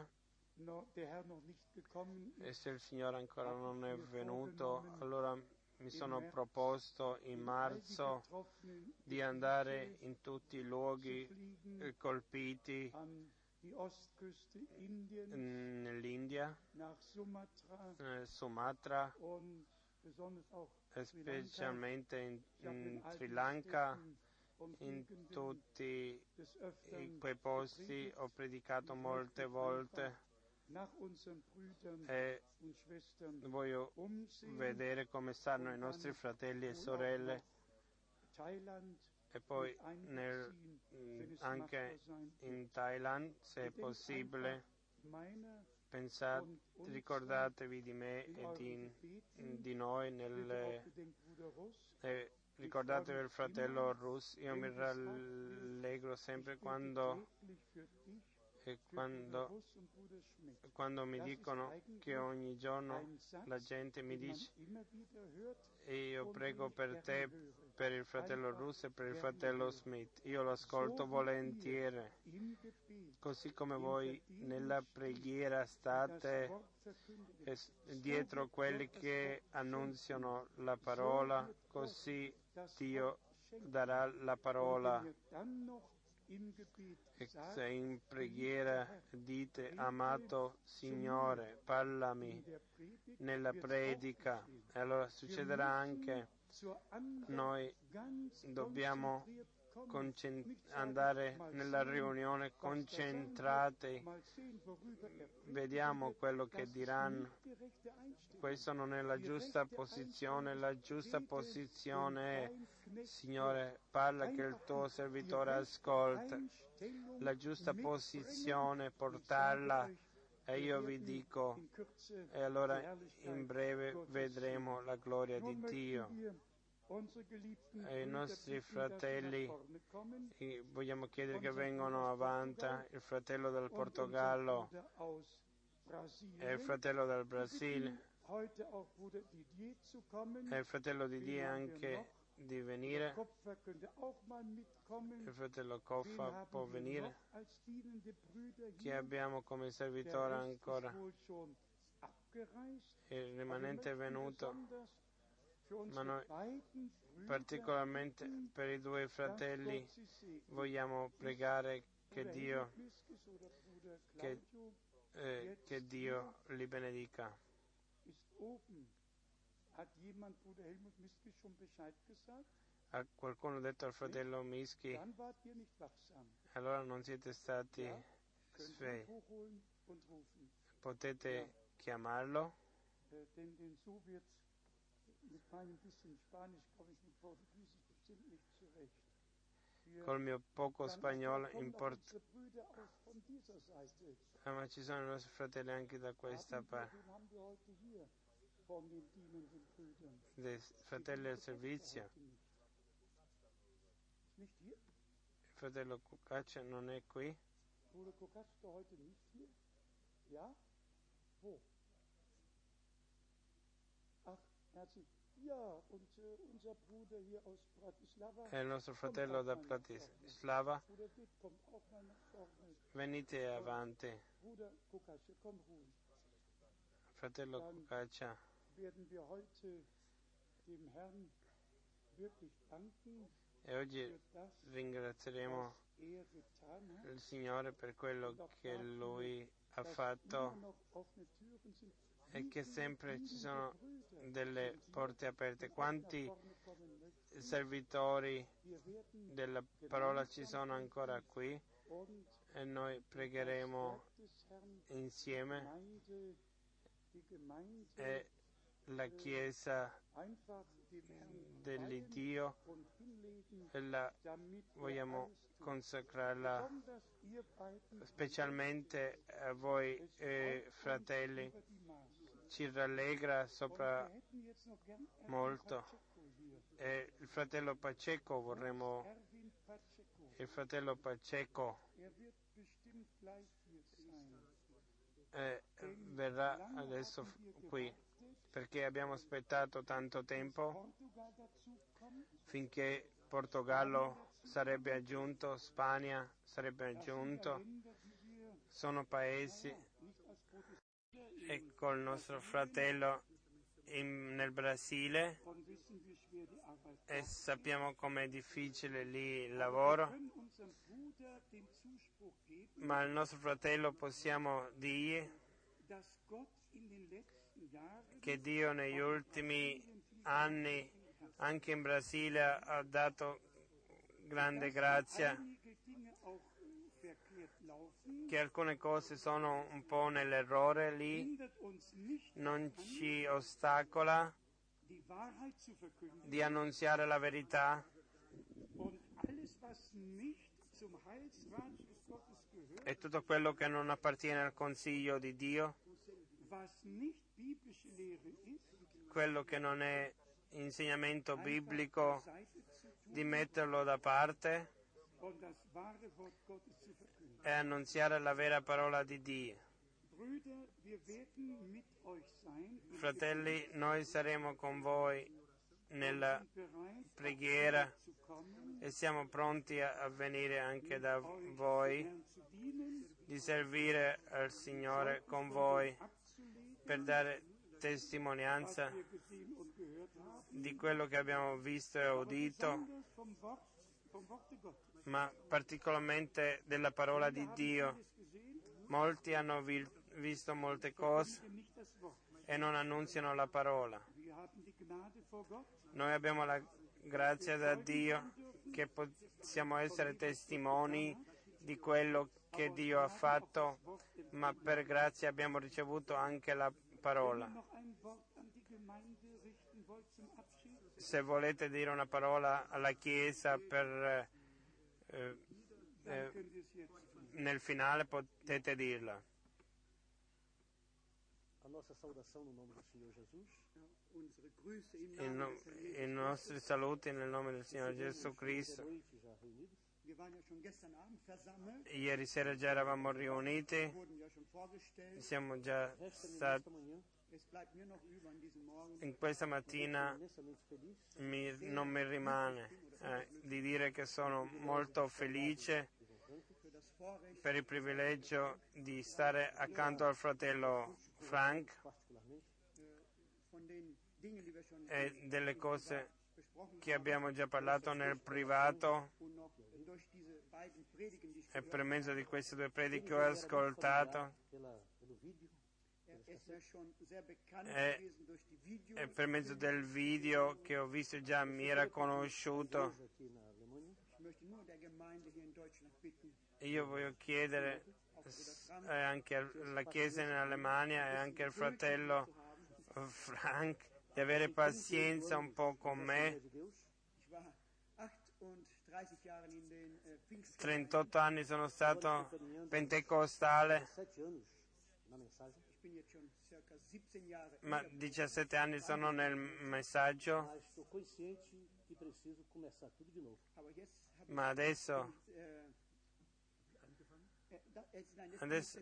e se il Signore ancora non è venuto, allora mi sono proposto in marzo di andare in tutti i luoghi colpiti nell'India, eh, Sumatra, e specialmente in, in Sri Lanka. In tutti quei posti ho predicato molte volte e voglio vedere come stanno i nostri fratelli e sorelle, e poi nel, anche in Thailand, se è possibile. Pensate, ricordatevi di me e di, di noi nelle, eh, ricordatevi il fratello Rus. Io mi rallegro sempre quando E quando, quando mi dicono che ogni giorno la gente mi dice, e io prego per te, per il fratello Russo e per il fratello Smith, io lo ascolto volentieri, così come voi nella preghiera state dietro quelli che annunziano la parola, così Dio darà la parola. E se in preghiera dite, amato Signore, parlami nella predica, e allora succederà anche. Noi dobbiamo concent- andare nella riunione concentrati, vediamo quello che diranno. Questo non è la giusta posizione, la giusta posizione è: Signore, parla che il tuo servitore ascolta. La giusta posizione, portarla, e io vi dico, e allora in breve vedremo la gloria di Dio. E i nostri fratelli, vogliamo chiedere che vengano avanti, il fratello del Portogallo e il fratello del Brasile e il fratello di Dio anche di venire. Il fratello Coffa può venire, che abbiamo come servitore ancora. Il rimanente è venuto, ma noi particolarmente per i due fratelli vogliamo pregare che Dio, che, eh, che Dio li benedica. Ha qualcuno detto al fratello Mischi? Allora non siete stati svegli. Potete chiamarlo? Col mio poco spagnolo import... ah, ma ci sono i nostri fratelli anche da questa parte. Dei fratelli del servizio. Il fratello Cucaccia non è qui? È il nostro fratello da Bratislava. Venite avanti. Fratello Cucaccia. E oggi ringrazieremo il Signore per quello che Lui ha fatto e che sempre ci sono delle porte aperte. Quanti servitori della parola ci sono ancora qui? E noi pregheremo insieme e la Chiesa dell'Iddio e la vogliamo consacrarla specialmente a voi eh, fratelli. Ci rallegra sopra molto. E il fratello Pacheco vorremmo, il fratello Pacheco eh, verrà adesso qui, perché abbiamo aspettato tanto tempo finché Portogallo sarebbe aggiunto, Spagna sarebbe aggiunto. Sono paesi, e col nostro fratello in, nel Brasile, e sappiamo com'è difficile lì il lavoro, ma al nostro fratello possiamo dire che Dio negli ultimi anni anche in Brasile ha dato grande grazia, che alcune cose sono un po' nell'errore lì, non ci ostacola di annunziare la verità, e tutto quello che non appartiene al consiglio di Dio, quello che non è insegnamento biblico, di metterlo da parte e annunziare la vera parola di Dio. Fratelli, noi saremo con voi nella preghiera e siamo pronti a venire anche da voi, di servire al Signore con voi, per dare testimonianza di quello che abbiamo visto e udito, ma particolarmente della parola di Dio. Molti hanno vi- visto molte cose e non annunziano la parola. Noi abbiamo la Grazie a Dio che possiamo essere testimoni di quello che Dio ha fatto, ma per grazia abbiamo ricevuto anche la parola. Se volete dire una parola alla Chiesa per, eh, eh, nel finale potete dirla. A nossa saudação no nome do Senhor Jesus. I, no, I nostri saluti nel nome del Signore Gesù Cristo. Ieri sera già eravamo riuniti, siamo già stati. In questa mattina mi, non mi rimane eh, di dire che sono molto felice per il privilegio di stare accanto al fratello Frank e delle cose che abbiamo già parlato nel privato e per mezzo di queste due prediche che ho ascoltato e, e per mezzo del video che ho visto già mi era conosciuto. Io voglio chiedere eh, anche alla Chiesa in Alemania e anche al fratello Frank di avere pazienza un po' con me. trentotto anni sono stato pentecostale, ma diciassette anni sono nel messaggio, ma adesso adesso,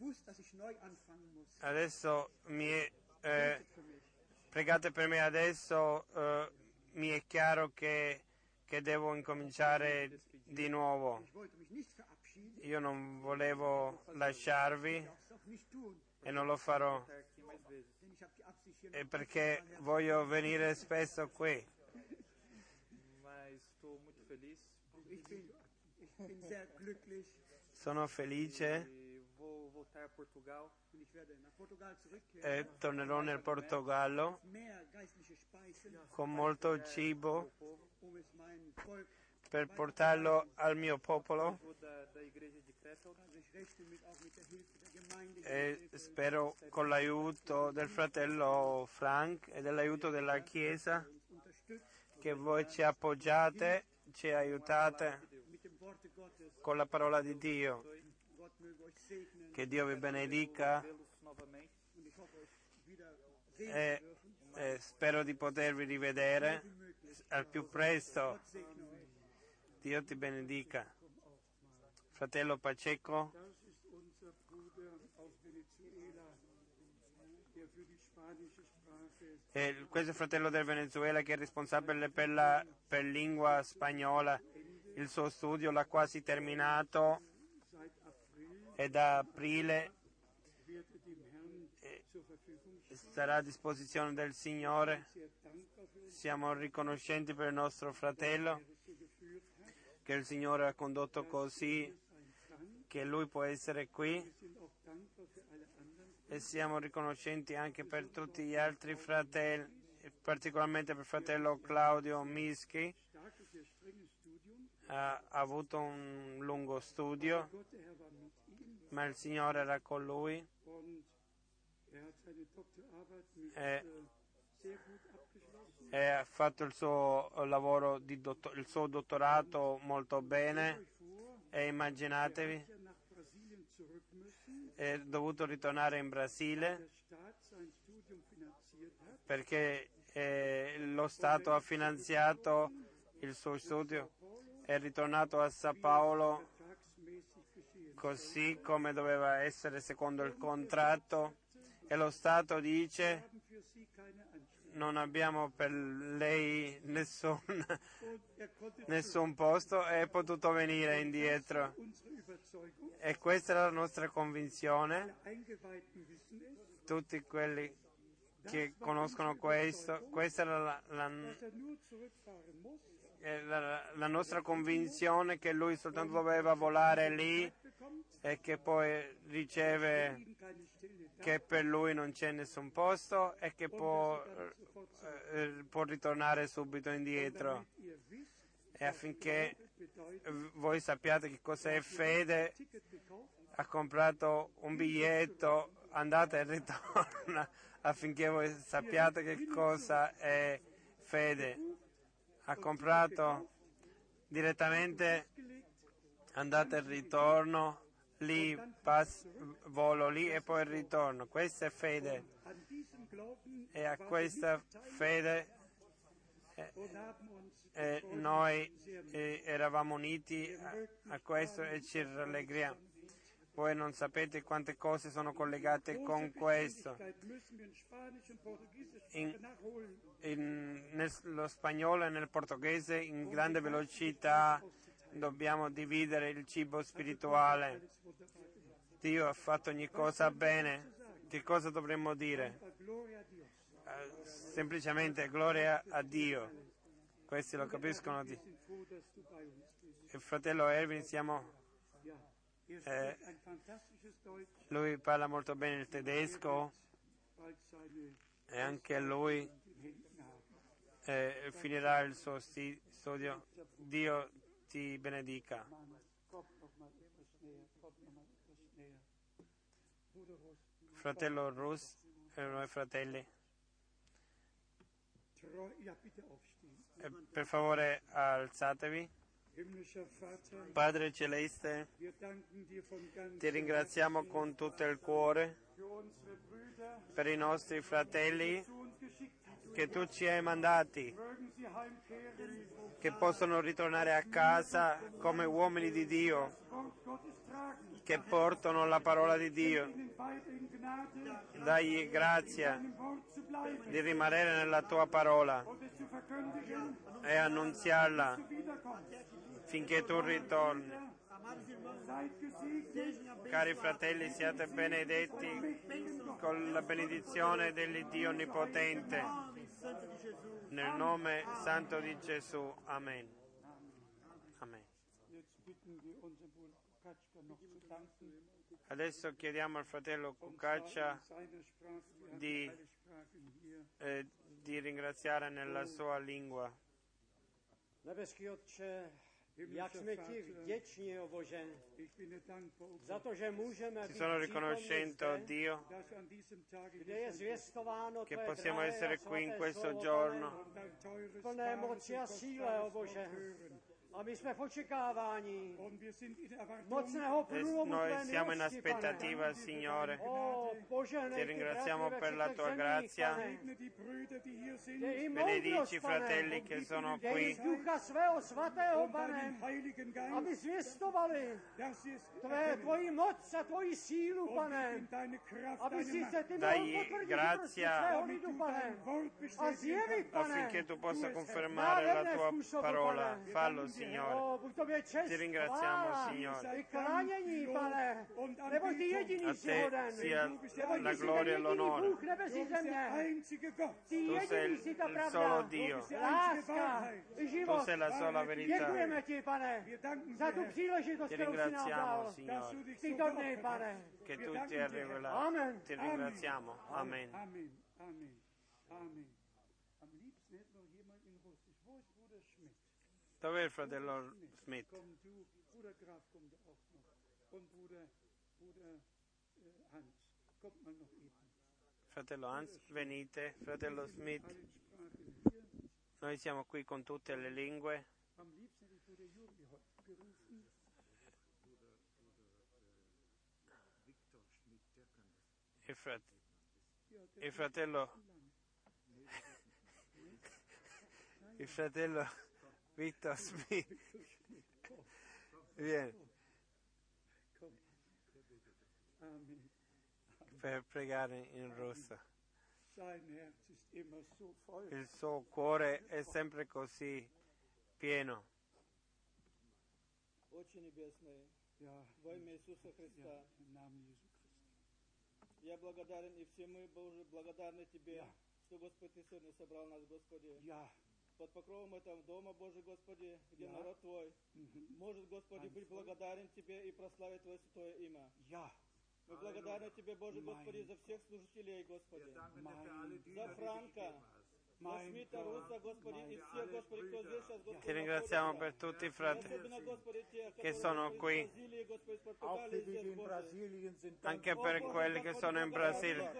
adesso mi è, eh, pregate per me adesso, eh, mi è chiaro che, che devo incominciare di nuovo. Io non volevo lasciarvi e non lo farò, e perché voglio venire spesso qui. Sono felice e tornerò nel Portogallo con molto cibo per portarlo al mio popolo e spero con l'aiuto del fratello Frank e dell'aiuto della Chiesa che voi ci appoggiate, ci aiutate con la parola di Dio. Che Dio vi benedica e, e spero di potervi rivedere al più presto. Dio ti benedica. Fratello Pacheco, e questo è il fratello del Venezuela che è responsabile per la per lingua spagnola. Il suo studio l'ha quasi terminato e da aprile sarà a disposizione del Signore. Siamo riconoscenti per il nostro fratello che il Signore ha condotto così che lui può essere qui, e siamo riconoscenti anche per tutti gli altri fratelli, particolarmente per il fratello Claudio Mischi. Ha avuto un lungo studio, ma il Signore era con lui e, e ha fatto il suo lavoro, di dottor, il suo dottorato molto bene, e immaginatevi, è dovuto ritornare in Brasile perché eh, lo Stato ha finanziato il suo studio. È ritornato a Sao Paolo così come doveva essere secondo il contratto, e lo Stato dice: non abbiamo per lei nessun, nessun posto, e è potuto venire indietro. E questa è la nostra convinzione. Tutti quelli che conoscono questo, questa era la, la la, la nostra convinzione che lui soltanto doveva volare lì e che poi riceve che per lui non c'è nessun posto e che può, eh, può ritornare subito indietro. E affinché voi sappiate che cos'è fede, ha comprato un biglietto, andate e ritorna, affinché voi sappiate che cosa è fede. Ha comprato direttamente, andate e ritorno, lì, pass, volo lì e poi ritorno. Questa è fede. E a questa fede eh, eh, noi eh, eravamo uniti a, a questo e ci rallegriamo. Voi non sapete quante cose sono collegate con questo. In, in, nello spagnolo e nel portoghese in grande velocità dobbiamo dividere il cibo spirituale. Dio ha fatto ogni cosa bene. Che cosa dovremmo dire? Uh, semplicemente gloria a Dio. Questi lo capiscono. Di... Il fratello Erwin, siamo... Eh, lui parla molto bene il tedesco e anche lui eh, finirà il suo sti- studio. Dio ti benedica. Fratello Rus e i noi fratelli, eh, per favore alzatevi. Padre Celeste, ti ringraziamo con tutto il cuore per i nostri fratelli che tu ci hai mandati, che possono ritornare a casa come uomini di Dio, che portano la parola di Dio. Dagli grazia di rimanere nella tua parola e annunziarla finché tu ritorni. Cari fratelli, siate benedetti con la benedizione dell'Iddio Onnipotente. Nel nome santo di Gesù. Amen. Amen. Adesso chiediamo al fratello Kukacha di, eh, di ringraziare nella sua lingua. Nebeský Otče, jak jsme ti vděční, o Bože, za to, že můžeme Ti být sono riconoscendo Dio kde je zvěstováno che tvé possiamo drahé essere a qui in svaté questo slovo, giorno Pane, plné moci a síle, o Bože. A my jsme v očekávání mocného e průlomu noi tvé siamo in milosti, aspettativa, Pane. Signore. O, požehnej Ti ty ringraziamo bratry per ve la všech tua zemích, grazia. Pane. Dej jim Benedici i moudrost, Pane. fratelli che sono Dej qui jim ducha svého svatého, Pane, aby zvěstovali tvé, tvoji moc a tvoji sílu, Pane, aby si se ty mohl Dagli potvrdit grazia prostě svého lidu, Pane, a zjevit, Pane, affinché tu possa confermare la tua parola. Fallo, Signore. O, buď tobě čest, Ti ringraziamo, chvála Signore. i klánění, Pane, nebo ty jediný A jsi te hoden, sia nebo la ty jsi ten gloria e jediný l'onore. Bůh nebesí země, ty Tu sei jediný jsi ta il solo pravda, Dio. láska, život. Tu sei la sola verità. Děkujeme ti, Pane, za tu příležitost, Ti kterou jsi nám ringraziamo, dal. Signore, Tyto dny, Pane. che tu ti hai rivelato. Amen. Ti ringraziamo. Amen. Amen. Amen. Amen. Am liebsten hätte noch jemand in Russisch. Wo ist Bruder Schmidt? Dov'è il fratello Smith? Komm du, Bruder Graf kommt auch noch. Und Bruder, Bruder äh, Hans, kommt mal noch eben. Fratello Hans, venite. Fratello Smith, Allen Sprachen hier. noi siamo qui con tutte le lingue. Am liebsten hätte ich Bruder Juri heute gerufen. Il, frat- il fratello il fratello Victor Smith viene Amen. per pregare in russo. Sein Herz ist immer so voll. Il suo cuore è sempre così pieno. Отче Небесный, Ja, во имя Иисуса Христа, ja, im Namen Jesu Christi. я благодарен, и все мы, Боже, благодарны Тебе, Ja. что, Господь, Ты сегодня собрал нас, Господи. Ja, под покровом этого дома, Божий Господи, где народ Твой может, Господи, быть благодарен Тебе и прославить Твое святое имя. Мы благодарны Тебе, Боже Господи, за всех служителей, Господи, за Франка, за Смита, Руса, Господи, и всех, Господи, кто здесь сейчас, Господи, Ti ringraziamo per tutti i fratelli che sono qui, anche per quelli che sono in Brasile.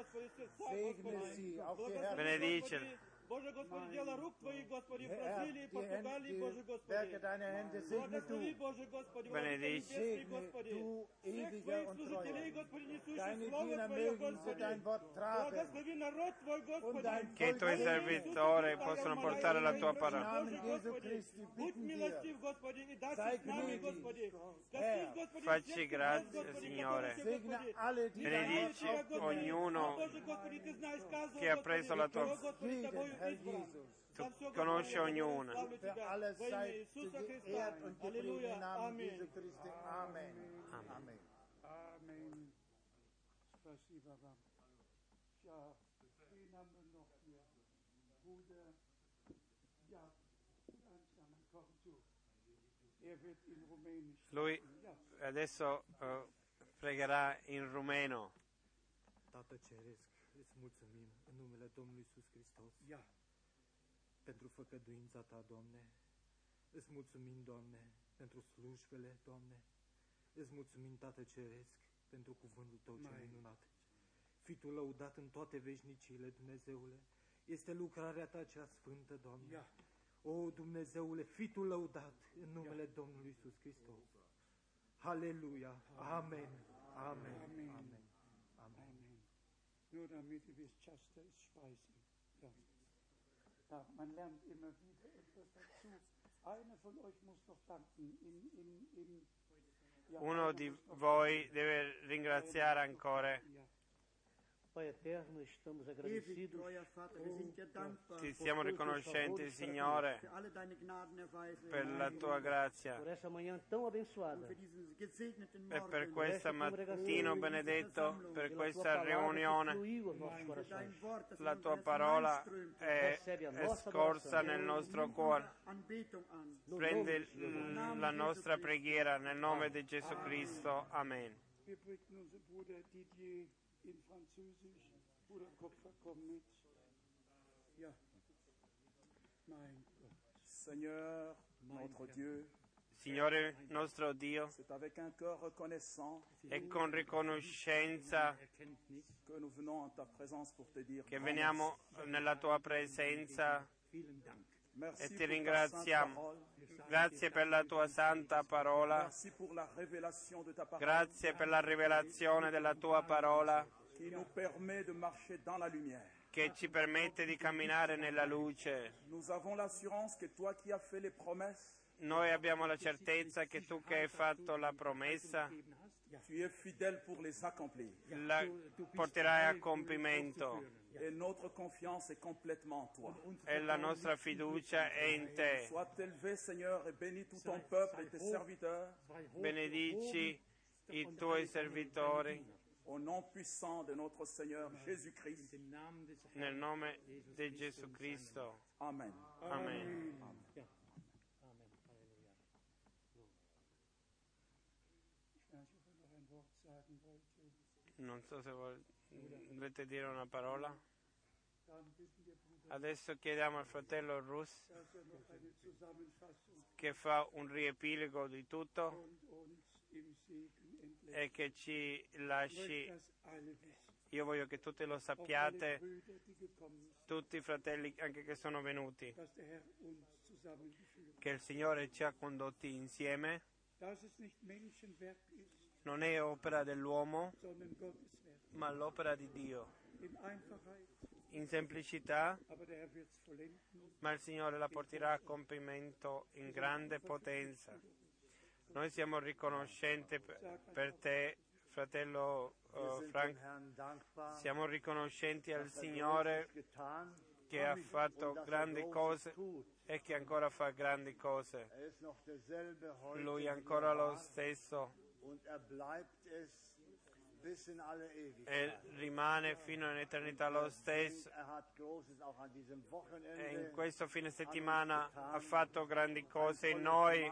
Benedicili. Боже Господи, дело рук Твоих, Господи, в Бразилии, Португалии, Боже Господи. Благослови, Боже Господи, Benedici Господи, du всех ewiger Твоих und служителей, treuer. Господи, несущих Deine Слово Diener Твое, mögen so Господи. dein Wort tragen. Благослови народ Твой, Господи. Che i tuoi servitori possano portare la tua Im parola. Namen Jesu Christi Будь bitten wir. милостив, Господи, и дай Sei с нами, gnädig, Господи. Herr. Коснись, Господи, Facci всех grazie, нас, Господи, Signore. которые, Segne Господи, alle, die dein Benedici Wort aufgenommen ognuno Боже Господи, Ты знаешь каждого, che ha Господи, preso la tua- кто, Господи, jeden, Тобою Herr избран. Jesus. Tu За всё, conosci Господи, ognuna. славлю Für Тебя. alles Во имя sei Иисуса Христа. geehrt und gepriesen Аллилуйя. im Namen Аминь. Jesu Christi. Amen. Amen. Amen. Spasiba вам. Ja, wen haben wir noch hier? Bruder, ja, langsam, komm zu. Er wird in Rumänisch. Lui Ja, adesso eh, pregherà in rumeno. Tată Ceresc, îți mulțumim în numele Domnului Iisus Hristos ja, pentru făcăduința Ta, Doamne. Îți mulțumim, Doamne, pentru slujbele, Doamne. Îți mulțumim, Tată Ceresc, pentru cuvântul Tău cel Mai. minunat. Fii Tu lăudat în toate veșniciile, Dumnezeule. Este lucrarea Ta cea sfântă, Doamne. ja. O, Dumnezeule, fii Tu lăudat în numele Domnului Iisus Hristos. Halleluja. Amen. Amen. Amen. Amen. Amen. Nur damit ihr wisst, Chester ist Speisen. Ja. Ja, man lernt immer wieder etwas dazu. Einer von euch muss noch danken. In, in, in, ja, Uno einer di muss noch voi danken. deve ringraziare ancora. Ja. Pai eterno, estamos Ewig agradecidos treuer Vater, wir sind dir dankbar Ti siamo riconoscenti, Signore, für alle deine Gnadenerweise per la tua grazia por essa manhã tão abençoada, für diesen gesegneten e per Morgen, questo mattino benedetto, per pela questa tua palavra que riunione. fluiu aos nossos für corações. dein Wort, das in La unser tua Herz parola hineinströmt. è, è scorsa nel nostro cuore. Anbetung an. No Prendi nome do Senhor Jesus. l- la nostra preghiera nel nome di Gesù Cristo. Amen. Wir bitten unseren Bruder Didier in Französisch. Bruder Kopfer, komm mit. Ja. Mein Gott. Seigneur, notre Dieu, Signore nostro Dio, c'est avec un cœur reconnaissant è con riconoscenza que nous venons en ta présence pour te dire che grand veniamo nella tua presenza merci e ti pour ta sainte ringraziamo. parole. Grazie per la tua santa parola, Merci pour la révélation de ta parole grazie per la rivelazione della tua parola qui nous permet de marcher dans la lumière. che ci permette di camminare nella luce. Nous avons l'assurance que toi qui as fait les promesses, Noi abbiamo la certezza che tu che hai fatto la promessa tu es fidèle pour les accomplir. la porterai a compimento Et notre confiance est complètement en toi. e la nostra fiducia è in te. Sois élevé, Seigneur, et bénis tout ton peuple et tes serviteurs Benedici i tuoi servitori au nom puissant de notre Seigneur Jésus-Christ. nel nome di Gesù Cristo. Amen. Amen. Ich weiß nicht, ob er noch ein Wort sagen wollte. Non so se vol- volete dire una parola. Dann bitten wir Bruder, Adesso chiediamo al fratello Rus dass er noch eine Zusammenfassung che fa un riepilogo di tutto und uns im Segen entlässt. e che ci Ich möchte lasci. das alle wissen. Io voglio che tutti lo Auch alle sappiate, Brüder, die gekommen sind, tutti i fratelli anche che sono venuti, dass der Herr uns zusammengeführt che il Signore ci ha condotti insieme. hat. Dass es nicht Menschenwerk ist, Non è opera dell'uomo, sondern Gottes Werk. ma l'opera di Dio. In Einfachheit, In semplicità, aber der Herr wird es vollenden. ma il Signore la porterà a compimento in grande potenza. Noi siamo riconoscenti per, per te, fratello Wir eh, sind dem Frank. Herrn dankbar, Siamo riconoscenti al dass er Signore Großes getan che ha fatto und dass er grandi Großes cose tut. e che ancora fa grandi cose. Er ist noch derselbe heute Lui wie è ancora er lo war, stesso und er bleibt es e rimane fino in eternità lo stesso. E in questo fine settimana ha fatto grandi cose in noi,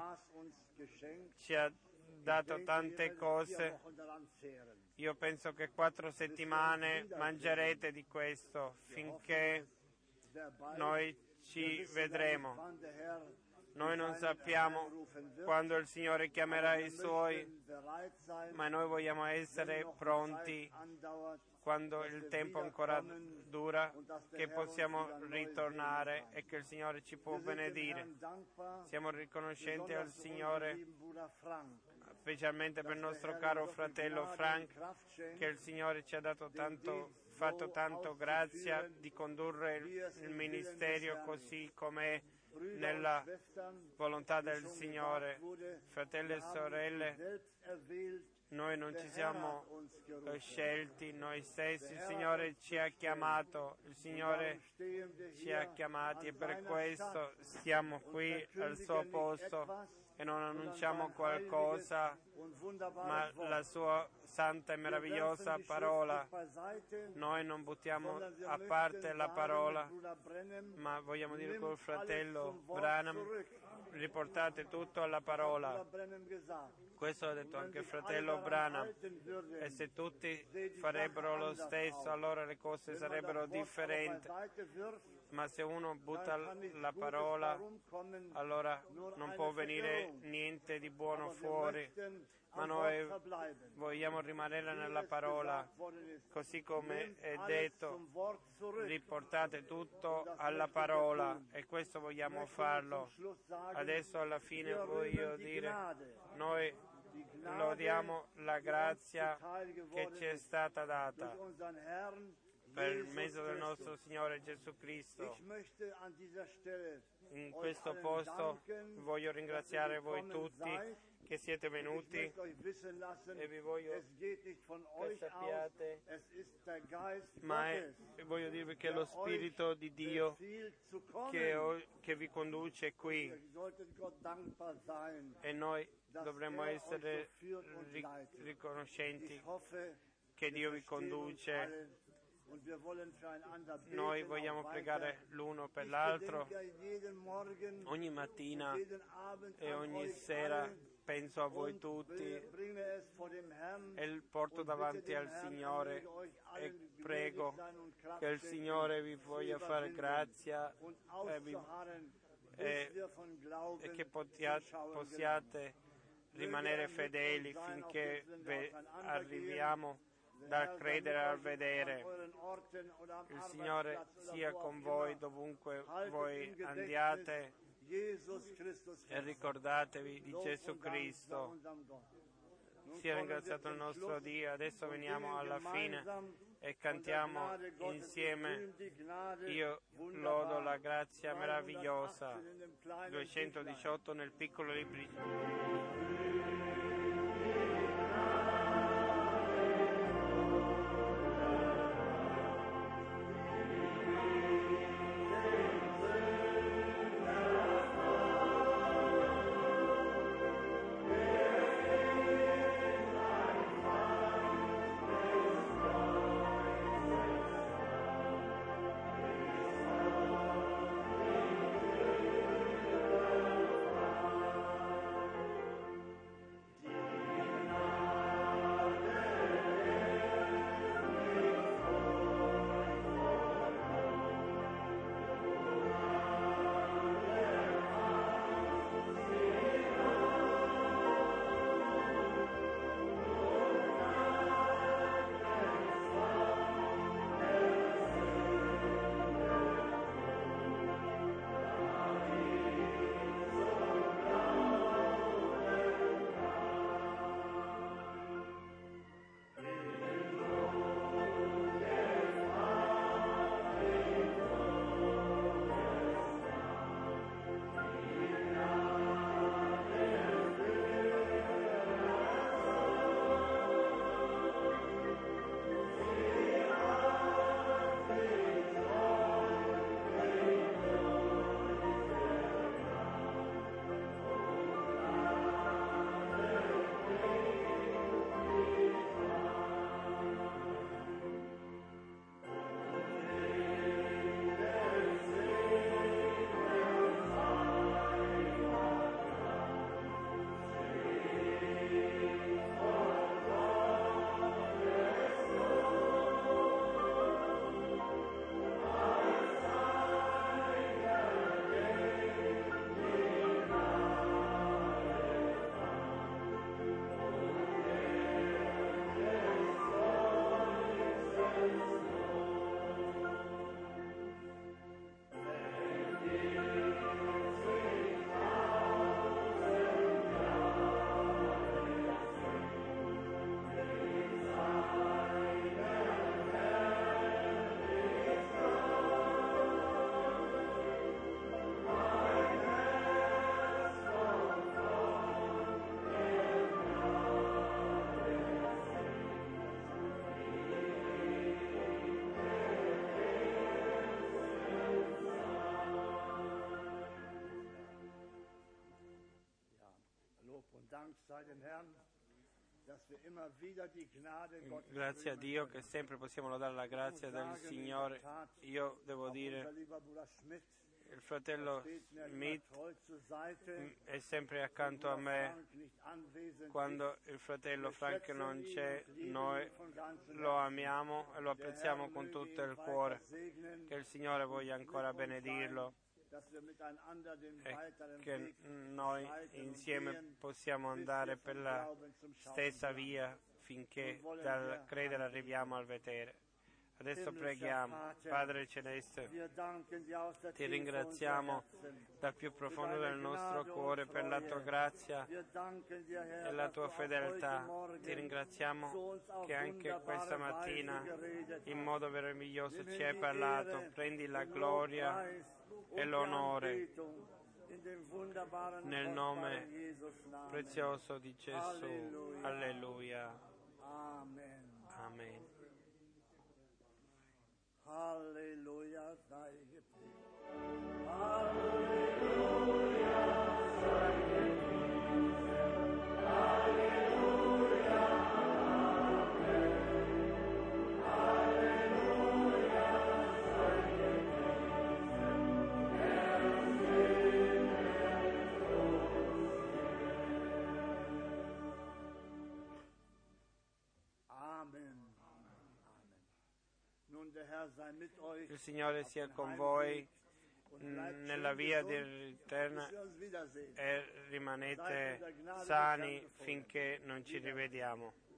ci ha dato tante cose. Io penso che quattro settimane mangerete di questo finché noi ci vedremo. Noi non sappiamo quando il Signore chiamerà i Suoi, ma noi vogliamo essere pronti quando il tempo ancora dura, che possiamo ritornare e che il Signore ci può benedire. Siamo riconoscenti al Signore, specialmente per il nostro caro fratello Frank, che il Signore ci ha dato tanto, fatto tanto grazia di condurre il ministero così com'è nella volontà del Signore. Fratelli e sorelle, noi non ci siamo scelti noi stessi, il Signore ci ha chiamato, il Signore ci ha chiamati e per questo stiamo qui al suo posto e non annunciamo qualcosa, ma la sua santa e meravigliosa parola. Noi non buttiamo a parte la parola, ma vogliamo dire col fratello Branham, riportate tutto alla parola. Questo ha detto anche il fratello Branham, e se tutti farebbero lo stesso allora le cose sarebbero differenti. Ma se uno butta la parola, allora non può venire niente di buono fuori. Ma noi vogliamo rimanere nella parola, così come è detto, riportate tutto alla parola, e questo vogliamo farlo. Adesso alla fine voglio dire, noi lodiamo la grazia che ci è stata data per il mezzo del nostro Signore Gesù Cristo. In questo posto voglio ringraziare voi tutti che siete venuti, e vi voglio che sappiate, ma è, voglio dirvi che è lo Spirito di Dio che, che vi conduce qui, e noi dovremmo essere riconoscenti che Dio vi conduce. Noi vogliamo pregare l'uno per l'altro ogni mattina e ogni sera. Penso a voi tutti e porto davanti al Signore e prego che il Signore vi voglia fare grazia e, vi, e, e che potiate, possiate rimanere fedeli finché arriviamo dal credere al vedere. Il Signore sia con voi dovunque voi andiate, e ricordatevi di Gesù Cristo. Sia ringraziato il nostro Dio. Adesso veniamo alla fine e cantiamo insieme Io lodo la grazia meravigliosa, duecentodiciotto nel piccolo libricino. Die Grazie a Dio che sempre possiamo lodare la grazia del Signore. Io devo dire, il fratello Smith è sempre accanto a me. Quando il fratello Frank non c'è, noi lo amiamo e lo apprezziamo con tutto il cuore. Che il Signore voglia ancora benedirlo e che noi insieme possiamo andare per la stessa via finché dal credere arriviamo al vedere. Adesso preghiamo. Padre Celeste, ti ringraziamo dal più profondo del nostro cuore per la tua grazia e la tua fedeltà. Ti ringraziamo che anche questa mattina in modo meraviglioso ci hai parlato. Prendi la gloria e l'onore nel nome prezioso di Gesù. Alleluia. Amen. Halleluja sei gepriesen. Halleluja sei gepriesen. Halleluja. Amen. Halleluja sei gepriesen. Er singet Amen. Il Signore sia con voi nella via di ritorno e rimanete sani finché non ci rivediamo.